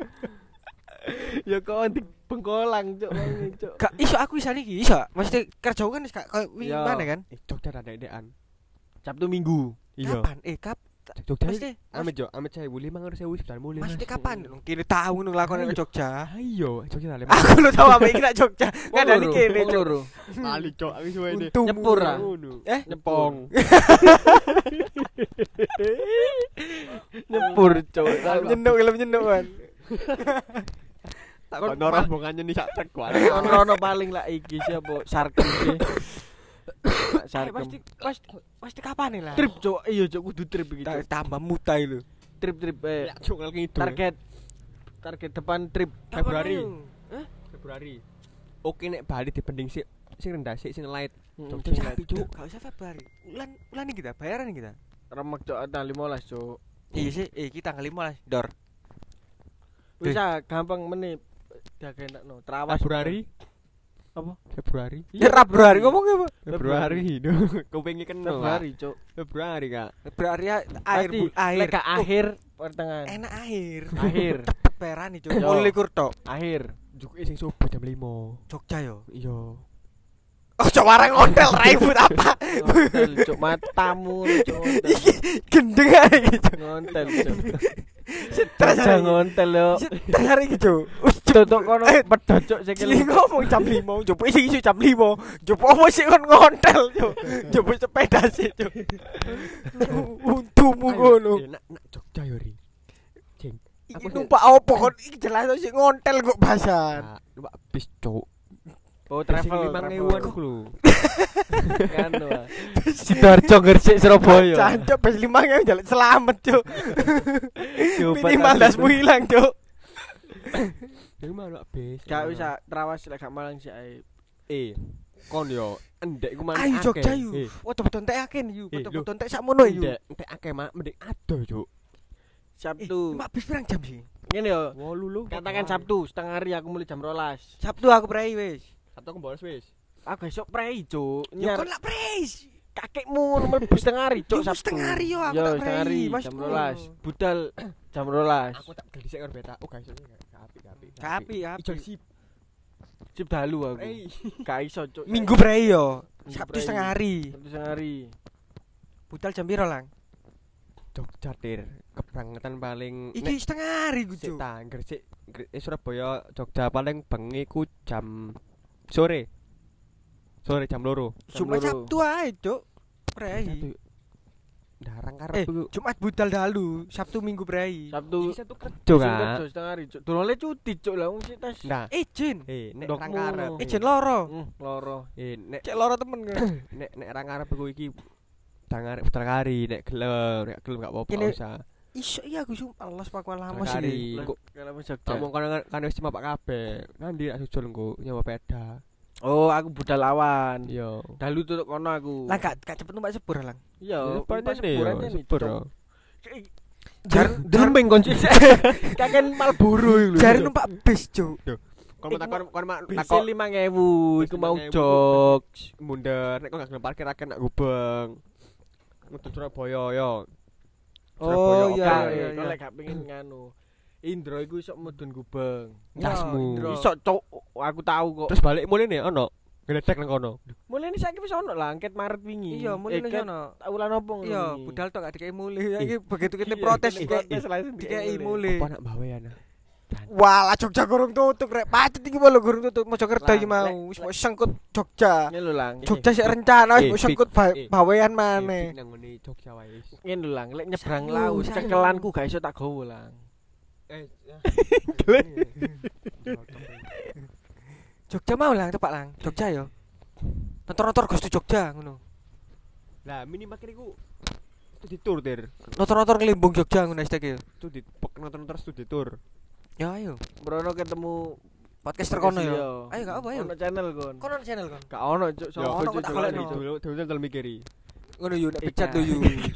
[SPEAKER 2] Ya kok di Bengkolang cuk wangi cuk.
[SPEAKER 1] Gak iso aku iso iki, iso. Mesti kerja kan wis gak koyo wingi
[SPEAKER 2] Ya.
[SPEAKER 1] mana kan?
[SPEAKER 3] Eh, Jogja ada dekan.
[SPEAKER 2] Sabtu Minggu.
[SPEAKER 1] Kapan? Eh, kap
[SPEAKER 3] Jogja.
[SPEAKER 1] mesti
[SPEAKER 3] Amit jo, amit saya boleh mangar saya wis dan mulai.
[SPEAKER 1] mesti kapan? Kene tahu nang lakone ke Jogja.
[SPEAKER 3] Ayo, Jogja ada.
[SPEAKER 1] Aku lu tahu apa iki nak Jogja. Kadane kene
[SPEAKER 2] Wong
[SPEAKER 1] cuk.
[SPEAKER 2] loro.
[SPEAKER 3] Kali cok, aku suwe ini.
[SPEAKER 1] Untumu.
[SPEAKER 2] Nyepur, ah.
[SPEAKER 1] Eh,
[SPEAKER 2] Nyepong. Nyepur cuk.
[SPEAKER 1] nyenduk film nyenduk kan.
[SPEAKER 3] Tak
[SPEAKER 2] Kon-
[SPEAKER 3] kono rombongannya nih sak trek kuwi.
[SPEAKER 2] Ono paling lah iki siapa? Sarkem iki.
[SPEAKER 1] Eh,
[SPEAKER 2] Sarkem.
[SPEAKER 1] pasti pasti pasti kapan nih lah?
[SPEAKER 2] Trip cuk. Iya cuk kudu trip iki.
[SPEAKER 1] Ta-
[SPEAKER 2] Cuk.
[SPEAKER 1] tambah mutai lu.
[SPEAKER 2] Trip-trip eh
[SPEAKER 3] Ya cok kalau gitu.
[SPEAKER 2] target target depan trip
[SPEAKER 3] Februari.
[SPEAKER 1] Hah?
[SPEAKER 3] Februari. Oke nek Bali dibanding sing sing rendah sik sing light.
[SPEAKER 2] Hmm,
[SPEAKER 3] Cuk,
[SPEAKER 2] sing
[SPEAKER 3] cuk.
[SPEAKER 2] light.
[SPEAKER 1] Cuk, gak usah Februari. Bulan bulan ini kita bayaran kita.
[SPEAKER 2] Remek cuk tanggal lima belas cuk.
[SPEAKER 1] Iya sih, eh kita tanggal lima belas dor.
[SPEAKER 2] Wis ah, gampang meneh diagenakno. Trawas
[SPEAKER 3] Februari.
[SPEAKER 2] apa?
[SPEAKER 3] Februari.
[SPEAKER 1] Ya Februari ngomong apa?
[SPEAKER 3] Februari. Duh, pengen kena.
[SPEAKER 2] Februari cuk.
[SPEAKER 3] Februari, Kak.
[SPEAKER 1] Februari ya, akhir
[SPEAKER 2] Pasti
[SPEAKER 1] bul- akhir.
[SPEAKER 2] lek gak akhir pertengahan.
[SPEAKER 1] Enak akhir.
[SPEAKER 2] Akhir.
[SPEAKER 1] Cepet bayaran nih, Cuk.
[SPEAKER 2] Yo.
[SPEAKER 1] Mulai kurtok.
[SPEAKER 2] Akhir.
[SPEAKER 3] Juke sing subuh jam lima.
[SPEAKER 1] Jogja yo.
[SPEAKER 3] Iya.
[SPEAKER 1] Oh, coba orang hotel raibut apa?
[SPEAKER 2] Ngontel cuk matamu cuk.
[SPEAKER 1] Gendeng aja gitu.
[SPEAKER 2] Ngontel cuk.
[SPEAKER 1] Stres
[SPEAKER 2] Aja
[SPEAKER 1] aja.
[SPEAKER 2] ngontel yo.
[SPEAKER 1] Stres hari gitu.
[SPEAKER 2] Tutuk kono
[SPEAKER 1] Eh,
[SPEAKER 2] pedot cuk
[SPEAKER 1] Cili
[SPEAKER 2] sikil.
[SPEAKER 1] ngomong jam lima, coba isi isi jam lima. Coba apa sih kon ngontel, Cuk? Coba sepeda sih, Cuk. Untumu ngono.
[SPEAKER 3] Eh, Nak nak Jogja yo ri. Cing.
[SPEAKER 1] Iki numpak apa kon iki jelas sih ngontel kok bahasan.
[SPEAKER 3] Nah, numpak bis cuk.
[SPEAKER 2] Oh travel
[SPEAKER 3] lima
[SPEAKER 2] travel.
[SPEAKER 3] ribuan ku lho.
[SPEAKER 2] Kan wah. Sidoarjo Gresik Surabaya.
[SPEAKER 1] Jancuk bes lima yang jalan selamat, Cuk.
[SPEAKER 2] Coba
[SPEAKER 1] Minimal
[SPEAKER 2] tak-
[SPEAKER 1] dasmu hilang, Cuk.
[SPEAKER 3] Yang mana bis?
[SPEAKER 2] Gak bisa trawas lek gak Malang sih ae.
[SPEAKER 3] Eh, kon yo endek ku mana
[SPEAKER 1] Ayo
[SPEAKER 3] akeh.
[SPEAKER 1] Jogja yuk.
[SPEAKER 3] Eh,
[SPEAKER 1] Foto-foto entek akeh yuk.
[SPEAKER 3] Eh,
[SPEAKER 1] Foto-foto entek sakmono yuk.
[SPEAKER 3] endek entek akeh mak mending ado cuk.
[SPEAKER 2] Sabtu.
[SPEAKER 1] Mak bis pirang jam sih?
[SPEAKER 2] Ngene yo.
[SPEAKER 3] wolu lho.
[SPEAKER 2] Katakan Sabtu setengah hari aku mulai jam rolas.
[SPEAKER 1] Sabtu aku prei wis.
[SPEAKER 3] Sabtu aku bolos wis.
[SPEAKER 2] Aku esok prei cuk.
[SPEAKER 1] Yo
[SPEAKER 2] Nyar
[SPEAKER 1] kon lak preis.
[SPEAKER 2] kakekmu mlebu setengah hari cuk
[SPEAKER 1] Yo,
[SPEAKER 2] Sabtu.
[SPEAKER 1] setengah hari yo, aku
[SPEAKER 2] Yo,
[SPEAKER 1] tak
[SPEAKER 2] setengah hari
[SPEAKER 1] prei, Mas.
[SPEAKER 2] jam rolas. Budal jam rolas.
[SPEAKER 3] Aku tak geli sik karo beta. Oh guys, gak apik gak apik.
[SPEAKER 1] Kapi, kapi.
[SPEAKER 3] Ijo sip.
[SPEAKER 2] Sip dalu aku.
[SPEAKER 3] Eh,
[SPEAKER 2] Gak iso cuk.
[SPEAKER 1] Minggu prei yo.
[SPEAKER 2] Minggu
[SPEAKER 1] Sabtu
[SPEAKER 2] prei.
[SPEAKER 1] setengah hari.
[SPEAKER 2] Sabtu setengah hari.
[SPEAKER 1] Budal jam piro lang?
[SPEAKER 3] Jogja tir. Keberangkatan paling
[SPEAKER 1] Iki setengah hari ku,
[SPEAKER 3] sik
[SPEAKER 1] Cuk.
[SPEAKER 3] ta Gresik Gre- eh, Surabaya Jogja paling bengi ku jam sore. Sore jam loro.
[SPEAKER 1] Cuma
[SPEAKER 2] loro.
[SPEAKER 1] Sabtu ae, Cuk. Prei.
[SPEAKER 3] Satu. Darang
[SPEAKER 1] Eh,
[SPEAKER 3] karep ku.
[SPEAKER 1] Jumat budal dalu, Sabtu Minggu prei.
[SPEAKER 2] Sabtu
[SPEAKER 3] Iki satu kerja
[SPEAKER 2] Sing
[SPEAKER 3] kan.
[SPEAKER 2] kerja setengah hari cuk. Durung le cuti cuk lah wong sik tes.
[SPEAKER 3] Nah,
[SPEAKER 1] Izin.
[SPEAKER 3] eh nek
[SPEAKER 2] Ndokmu
[SPEAKER 3] rang karep.
[SPEAKER 2] ngono.
[SPEAKER 1] Izin loro.
[SPEAKER 2] Hmm, loro.
[SPEAKER 3] Eh nek
[SPEAKER 1] Cek loro temen kan.
[SPEAKER 3] nek nek rang karep ku iki dangar putar kari nek gelem nek gelem gak apa-apa
[SPEAKER 1] Kene-
[SPEAKER 3] usah.
[SPEAKER 1] Iso iya aku sumpah los Pak lama
[SPEAKER 3] Kari.
[SPEAKER 1] sih.
[SPEAKER 3] Engko
[SPEAKER 2] Kalau mau Jogja.
[SPEAKER 3] ngomong kan kan wis cuma Pak kabeh. Nanti nak sujul engko nyawa peda.
[SPEAKER 2] Oh, aku budal awan.
[SPEAKER 3] Yo.
[SPEAKER 2] Dalu tutuk kono aku.
[SPEAKER 1] Lah gak gak cepet numpak sepur lang.
[SPEAKER 2] Iya,
[SPEAKER 3] Depannya
[SPEAKER 2] pas
[SPEAKER 3] nih,
[SPEAKER 2] seburannya nih.
[SPEAKER 3] sepur.
[SPEAKER 2] Cok.
[SPEAKER 1] Jar
[SPEAKER 2] Delembeng konci. Kakek Malboro iku lho.
[SPEAKER 1] Jare numpak bis, Cuk.
[SPEAKER 3] Kon takon kon mak
[SPEAKER 2] Bis
[SPEAKER 3] takon
[SPEAKER 2] lima ribu iku mau
[SPEAKER 3] lima ribu.
[SPEAKER 2] jog.
[SPEAKER 3] mundur nek kok gak gelem parkir akeh nak Gubeng. Mudun Surabaya yo.
[SPEAKER 1] Oh
[SPEAKER 3] Surabaya,
[SPEAKER 1] iya
[SPEAKER 3] oke.
[SPEAKER 1] iya iya.
[SPEAKER 2] Kalau gak pengen nganu. Indro iku iso mudun Gubeng.
[SPEAKER 3] Casmu.
[SPEAKER 1] Indro.
[SPEAKER 2] Iso cok, aku tahu kok.
[SPEAKER 3] Terus balik mulai nih ono. Gledek nang kono.
[SPEAKER 2] Mulai ini saiki wis ono lah angket Maret wingi.
[SPEAKER 1] Iya, mulai
[SPEAKER 2] Eh,
[SPEAKER 1] nang
[SPEAKER 2] ket
[SPEAKER 1] sono.
[SPEAKER 2] Wulan opo ngono
[SPEAKER 1] Iya,
[SPEAKER 2] wingi?
[SPEAKER 1] budal tok gak dikei mulih. Iki
[SPEAKER 3] Ih.
[SPEAKER 1] begitu kita
[SPEAKER 2] Iya,
[SPEAKER 1] protes
[SPEAKER 2] kita
[SPEAKER 1] dikei
[SPEAKER 2] protes langsung
[SPEAKER 1] dikei
[SPEAKER 2] mulih.
[SPEAKER 1] mulih.
[SPEAKER 3] Apa nak bawa ya nah?
[SPEAKER 1] Wah, lah Jogja gorong tutup rek. Pacet iki lho gorong tutup Mojokerto
[SPEAKER 2] Lah,
[SPEAKER 1] iki mau.
[SPEAKER 2] lek-
[SPEAKER 1] Wis mau sengkut Jogja.
[SPEAKER 2] Ngene lho lang.
[SPEAKER 1] Jogja sik rencana wis
[SPEAKER 3] Eh,
[SPEAKER 1] mau
[SPEAKER 3] Fik.
[SPEAKER 1] sengkut ba-
[SPEAKER 3] Eh.
[SPEAKER 1] bawean
[SPEAKER 3] Eh,
[SPEAKER 1] maneh.
[SPEAKER 3] nang ngene Jogja wae.
[SPEAKER 2] Ngene lho lang, lek nyebrang
[SPEAKER 1] Sayu,
[SPEAKER 2] laut
[SPEAKER 1] sayu.
[SPEAKER 2] cekelanku gak iso tak gowo lang.
[SPEAKER 3] Eh.
[SPEAKER 1] Jogja mau lang tepak lang. Jogja yo. Motor-motor Gusti Jogja ngono.
[SPEAKER 3] Lah minimal kene iku studi tour dir.
[SPEAKER 1] Motor-motor ngelimbung Jogja ngono istek yo.
[SPEAKER 3] Studi nonton-nonton studi tour.
[SPEAKER 1] Ya ayo.
[SPEAKER 2] Brono ketemu
[SPEAKER 1] Podcaster kono
[SPEAKER 2] Iya.
[SPEAKER 1] yo. Ayo gak apa ayo.
[SPEAKER 2] Ono channel kon.
[SPEAKER 1] Kono channel kon.
[SPEAKER 2] Gak ono cuk,
[SPEAKER 3] Yo,
[SPEAKER 2] sopo
[SPEAKER 1] ono,
[SPEAKER 2] cuk
[SPEAKER 1] tak
[SPEAKER 2] golek
[SPEAKER 1] golekno.
[SPEAKER 2] cuk.
[SPEAKER 3] dulu dulu dulu mikiri.
[SPEAKER 1] Ngono yo nek
[SPEAKER 2] Ikan.
[SPEAKER 1] pecat yo yo.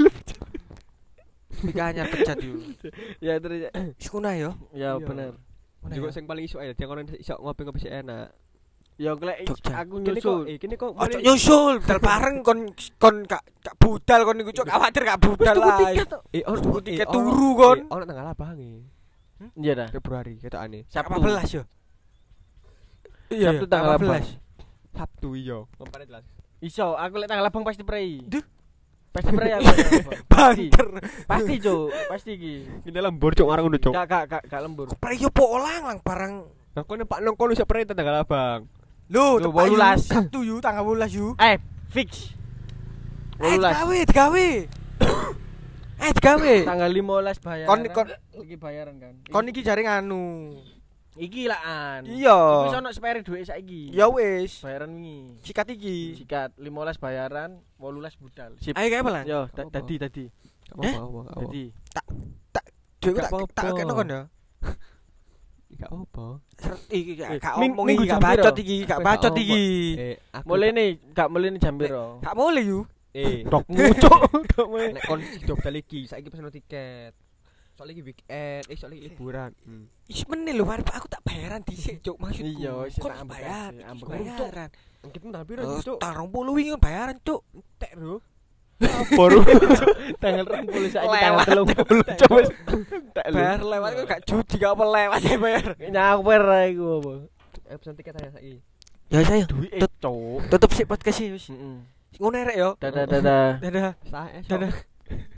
[SPEAKER 1] Mikanya pecat yo.
[SPEAKER 2] Ya terus ya.
[SPEAKER 1] Sekuna yo.
[SPEAKER 2] Ya
[SPEAKER 3] Iya.
[SPEAKER 2] bener.
[SPEAKER 1] Ngono
[SPEAKER 3] Juga
[SPEAKER 1] ya.
[SPEAKER 3] sing paling iso ae dia kono iso ngopi-ngopi sik enak.
[SPEAKER 2] Ya klek
[SPEAKER 1] Jogja.
[SPEAKER 2] aku
[SPEAKER 3] Kene kok
[SPEAKER 2] nyusul.
[SPEAKER 3] eh kene kok
[SPEAKER 1] Ojo nyusul, budal bareng kon kon gak gak budal kon niku cuk khawatir gak budal lah.
[SPEAKER 3] eh ono
[SPEAKER 1] Tuku
[SPEAKER 3] eh,
[SPEAKER 1] tiket
[SPEAKER 3] ono-
[SPEAKER 1] turu, kon.
[SPEAKER 3] eh, Ono tanggal abang e.
[SPEAKER 2] Iya dah.
[SPEAKER 3] Februari ketokane.
[SPEAKER 2] Sabtu.
[SPEAKER 1] delapan belas yo. Iya,
[SPEAKER 2] Sabtu tanggal
[SPEAKER 1] delapan belas.
[SPEAKER 3] Sabtu iya. Ngempane jelas.
[SPEAKER 2] Iso, aku lek tanggal abang pasti prei.
[SPEAKER 1] Duh.
[SPEAKER 2] Pasti prei aku. Pasti.
[SPEAKER 1] Banter.
[SPEAKER 2] Pasti cuk, pasti iki.
[SPEAKER 3] Ini lembur cuk ngarang ngono cuk.
[SPEAKER 2] Gak gak gak gak lembur.
[SPEAKER 1] Pre yo po lang lang barang.
[SPEAKER 3] Nah kono Pak nang kono iso prei tanggal abang.
[SPEAKER 1] Lho,
[SPEAKER 2] Lho,
[SPEAKER 1] tepak yo.
[SPEAKER 2] wolulas.
[SPEAKER 1] Sabtu yo tanggal wolulas yo.
[SPEAKER 2] Eh, fix.
[SPEAKER 1] Eh,
[SPEAKER 2] Wolulas.
[SPEAKER 1] digawe, digawe. Eh, digawe.
[SPEAKER 2] Tanggal lima belas bayaran.
[SPEAKER 1] Kon- kon-
[SPEAKER 2] iki bayaran kan.
[SPEAKER 1] Kon iki jare nganu.
[SPEAKER 2] Iki laan.
[SPEAKER 1] Iya.
[SPEAKER 2] Wis ono spare duit saiki.
[SPEAKER 1] Ya wis.
[SPEAKER 2] Bayaran wingi.
[SPEAKER 1] Sikat iki.
[SPEAKER 2] Sikat lima belas bayaran, delapan belas budal. Sip.
[SPEAKER 1] Ayo kae pelan.
[SPEAKER 2] Yo,
[SPEAKER 3] Apa-apa.
[SPEAKER 2] tadi tadi.
[SPEAKER 3] Gak
[SPEAKER 1] Eh?
[SPEAKER 3] apa-apa, gak apa-apa.
[SPEAKER 2] Tadi.
[SPEAKER 1] Duitku
[SPEAKER 3] Gak
[SPEAKER 1] tak
[SPEAKER 3] apa-apa.
[SPEAKER 1] tak kene kon ya.
[SPEAKER 3] Gak apa.
[SPEAKER 1] Seret iki gak
[SPEAKER 2] Eh,
[SPEAKER 1] gak
[SPEAKER 2] ming-
[SPEAKER 1] omong
[SPEAKER 2] minggu
[SPEAKER 1] iki gak
[SPEAKER 2] jam piro?
[SPEAKER 1] bacot iki, gak
[SPEAKER 3] Apa,
[SPEAKER 1] bacot
[SPEAKER 3] gak
[SPEAKER 1] iki.
[SPEAKER 3] Eh, aku
[SPEAKER 2] Mulai nih, gak mulai nih jam piro?
[SPEAKER 1] Gak boleh yo.
[SPEAKER 3] eh
[SPEAKER 2] Dok ngucuk. Gak mulai.
[SPEAKER 3] nek kon Jogja lagi saiki pesen tiket. Soalnya iki weekend, eh soalnya iki liburan. Hmm.
[SPEAKER 1] Is meneh lho, mari Pak, aku tak bayaran dhisik, Cuk, maksudku.
[SPEAKER 2] Iya, wis
[SPEAKER 1] Kon
[SPEAKER 2] tak ambek
[SPEAKER 1] bayar,
[SPEAKER 2] aja,
[SPEAKER 1] iki
[SPEAKER 2] ambek
[SPEAKER 1] bayaran.
[SPEAKER 3] Kita tak piro
[SPEAKER 1] Oh,
[SPEAKER 3] cuk?
[SPEAKER 1] tanggal dua puluh wingi bayaran, Cuk.
[SPEAKER 3] Tek bro.
[SPEAKER 2] Baru tanggal dua puluh saiki tanggal tiga puluh. Coba tak lu.
[SPEAKER 1] Bayar lewat kok gak judi gak apa lewat ya bayar.
[SPEAKER 2] Nyawer ae iku apa?
[SPEAKER 3] Eh pesen tiket aja saiki.
[SPEAKER 1] Ya saya
[SPEAKER 2] Duit
[SPEAKER 1] Tut-
[SPEAKER 2] cuk.
[SPEAKER 1] tutup sih podcast sih wis.
[SPEAKER 2] Heeh.
[SPEAKER 1] Ngono rek yo.
[SPEAKER 2] Dadah dadah.
[SPEAKER 1] Dadah.
[SPEAKER 3] Sah eh.
[SPEAKER 1] Dadah.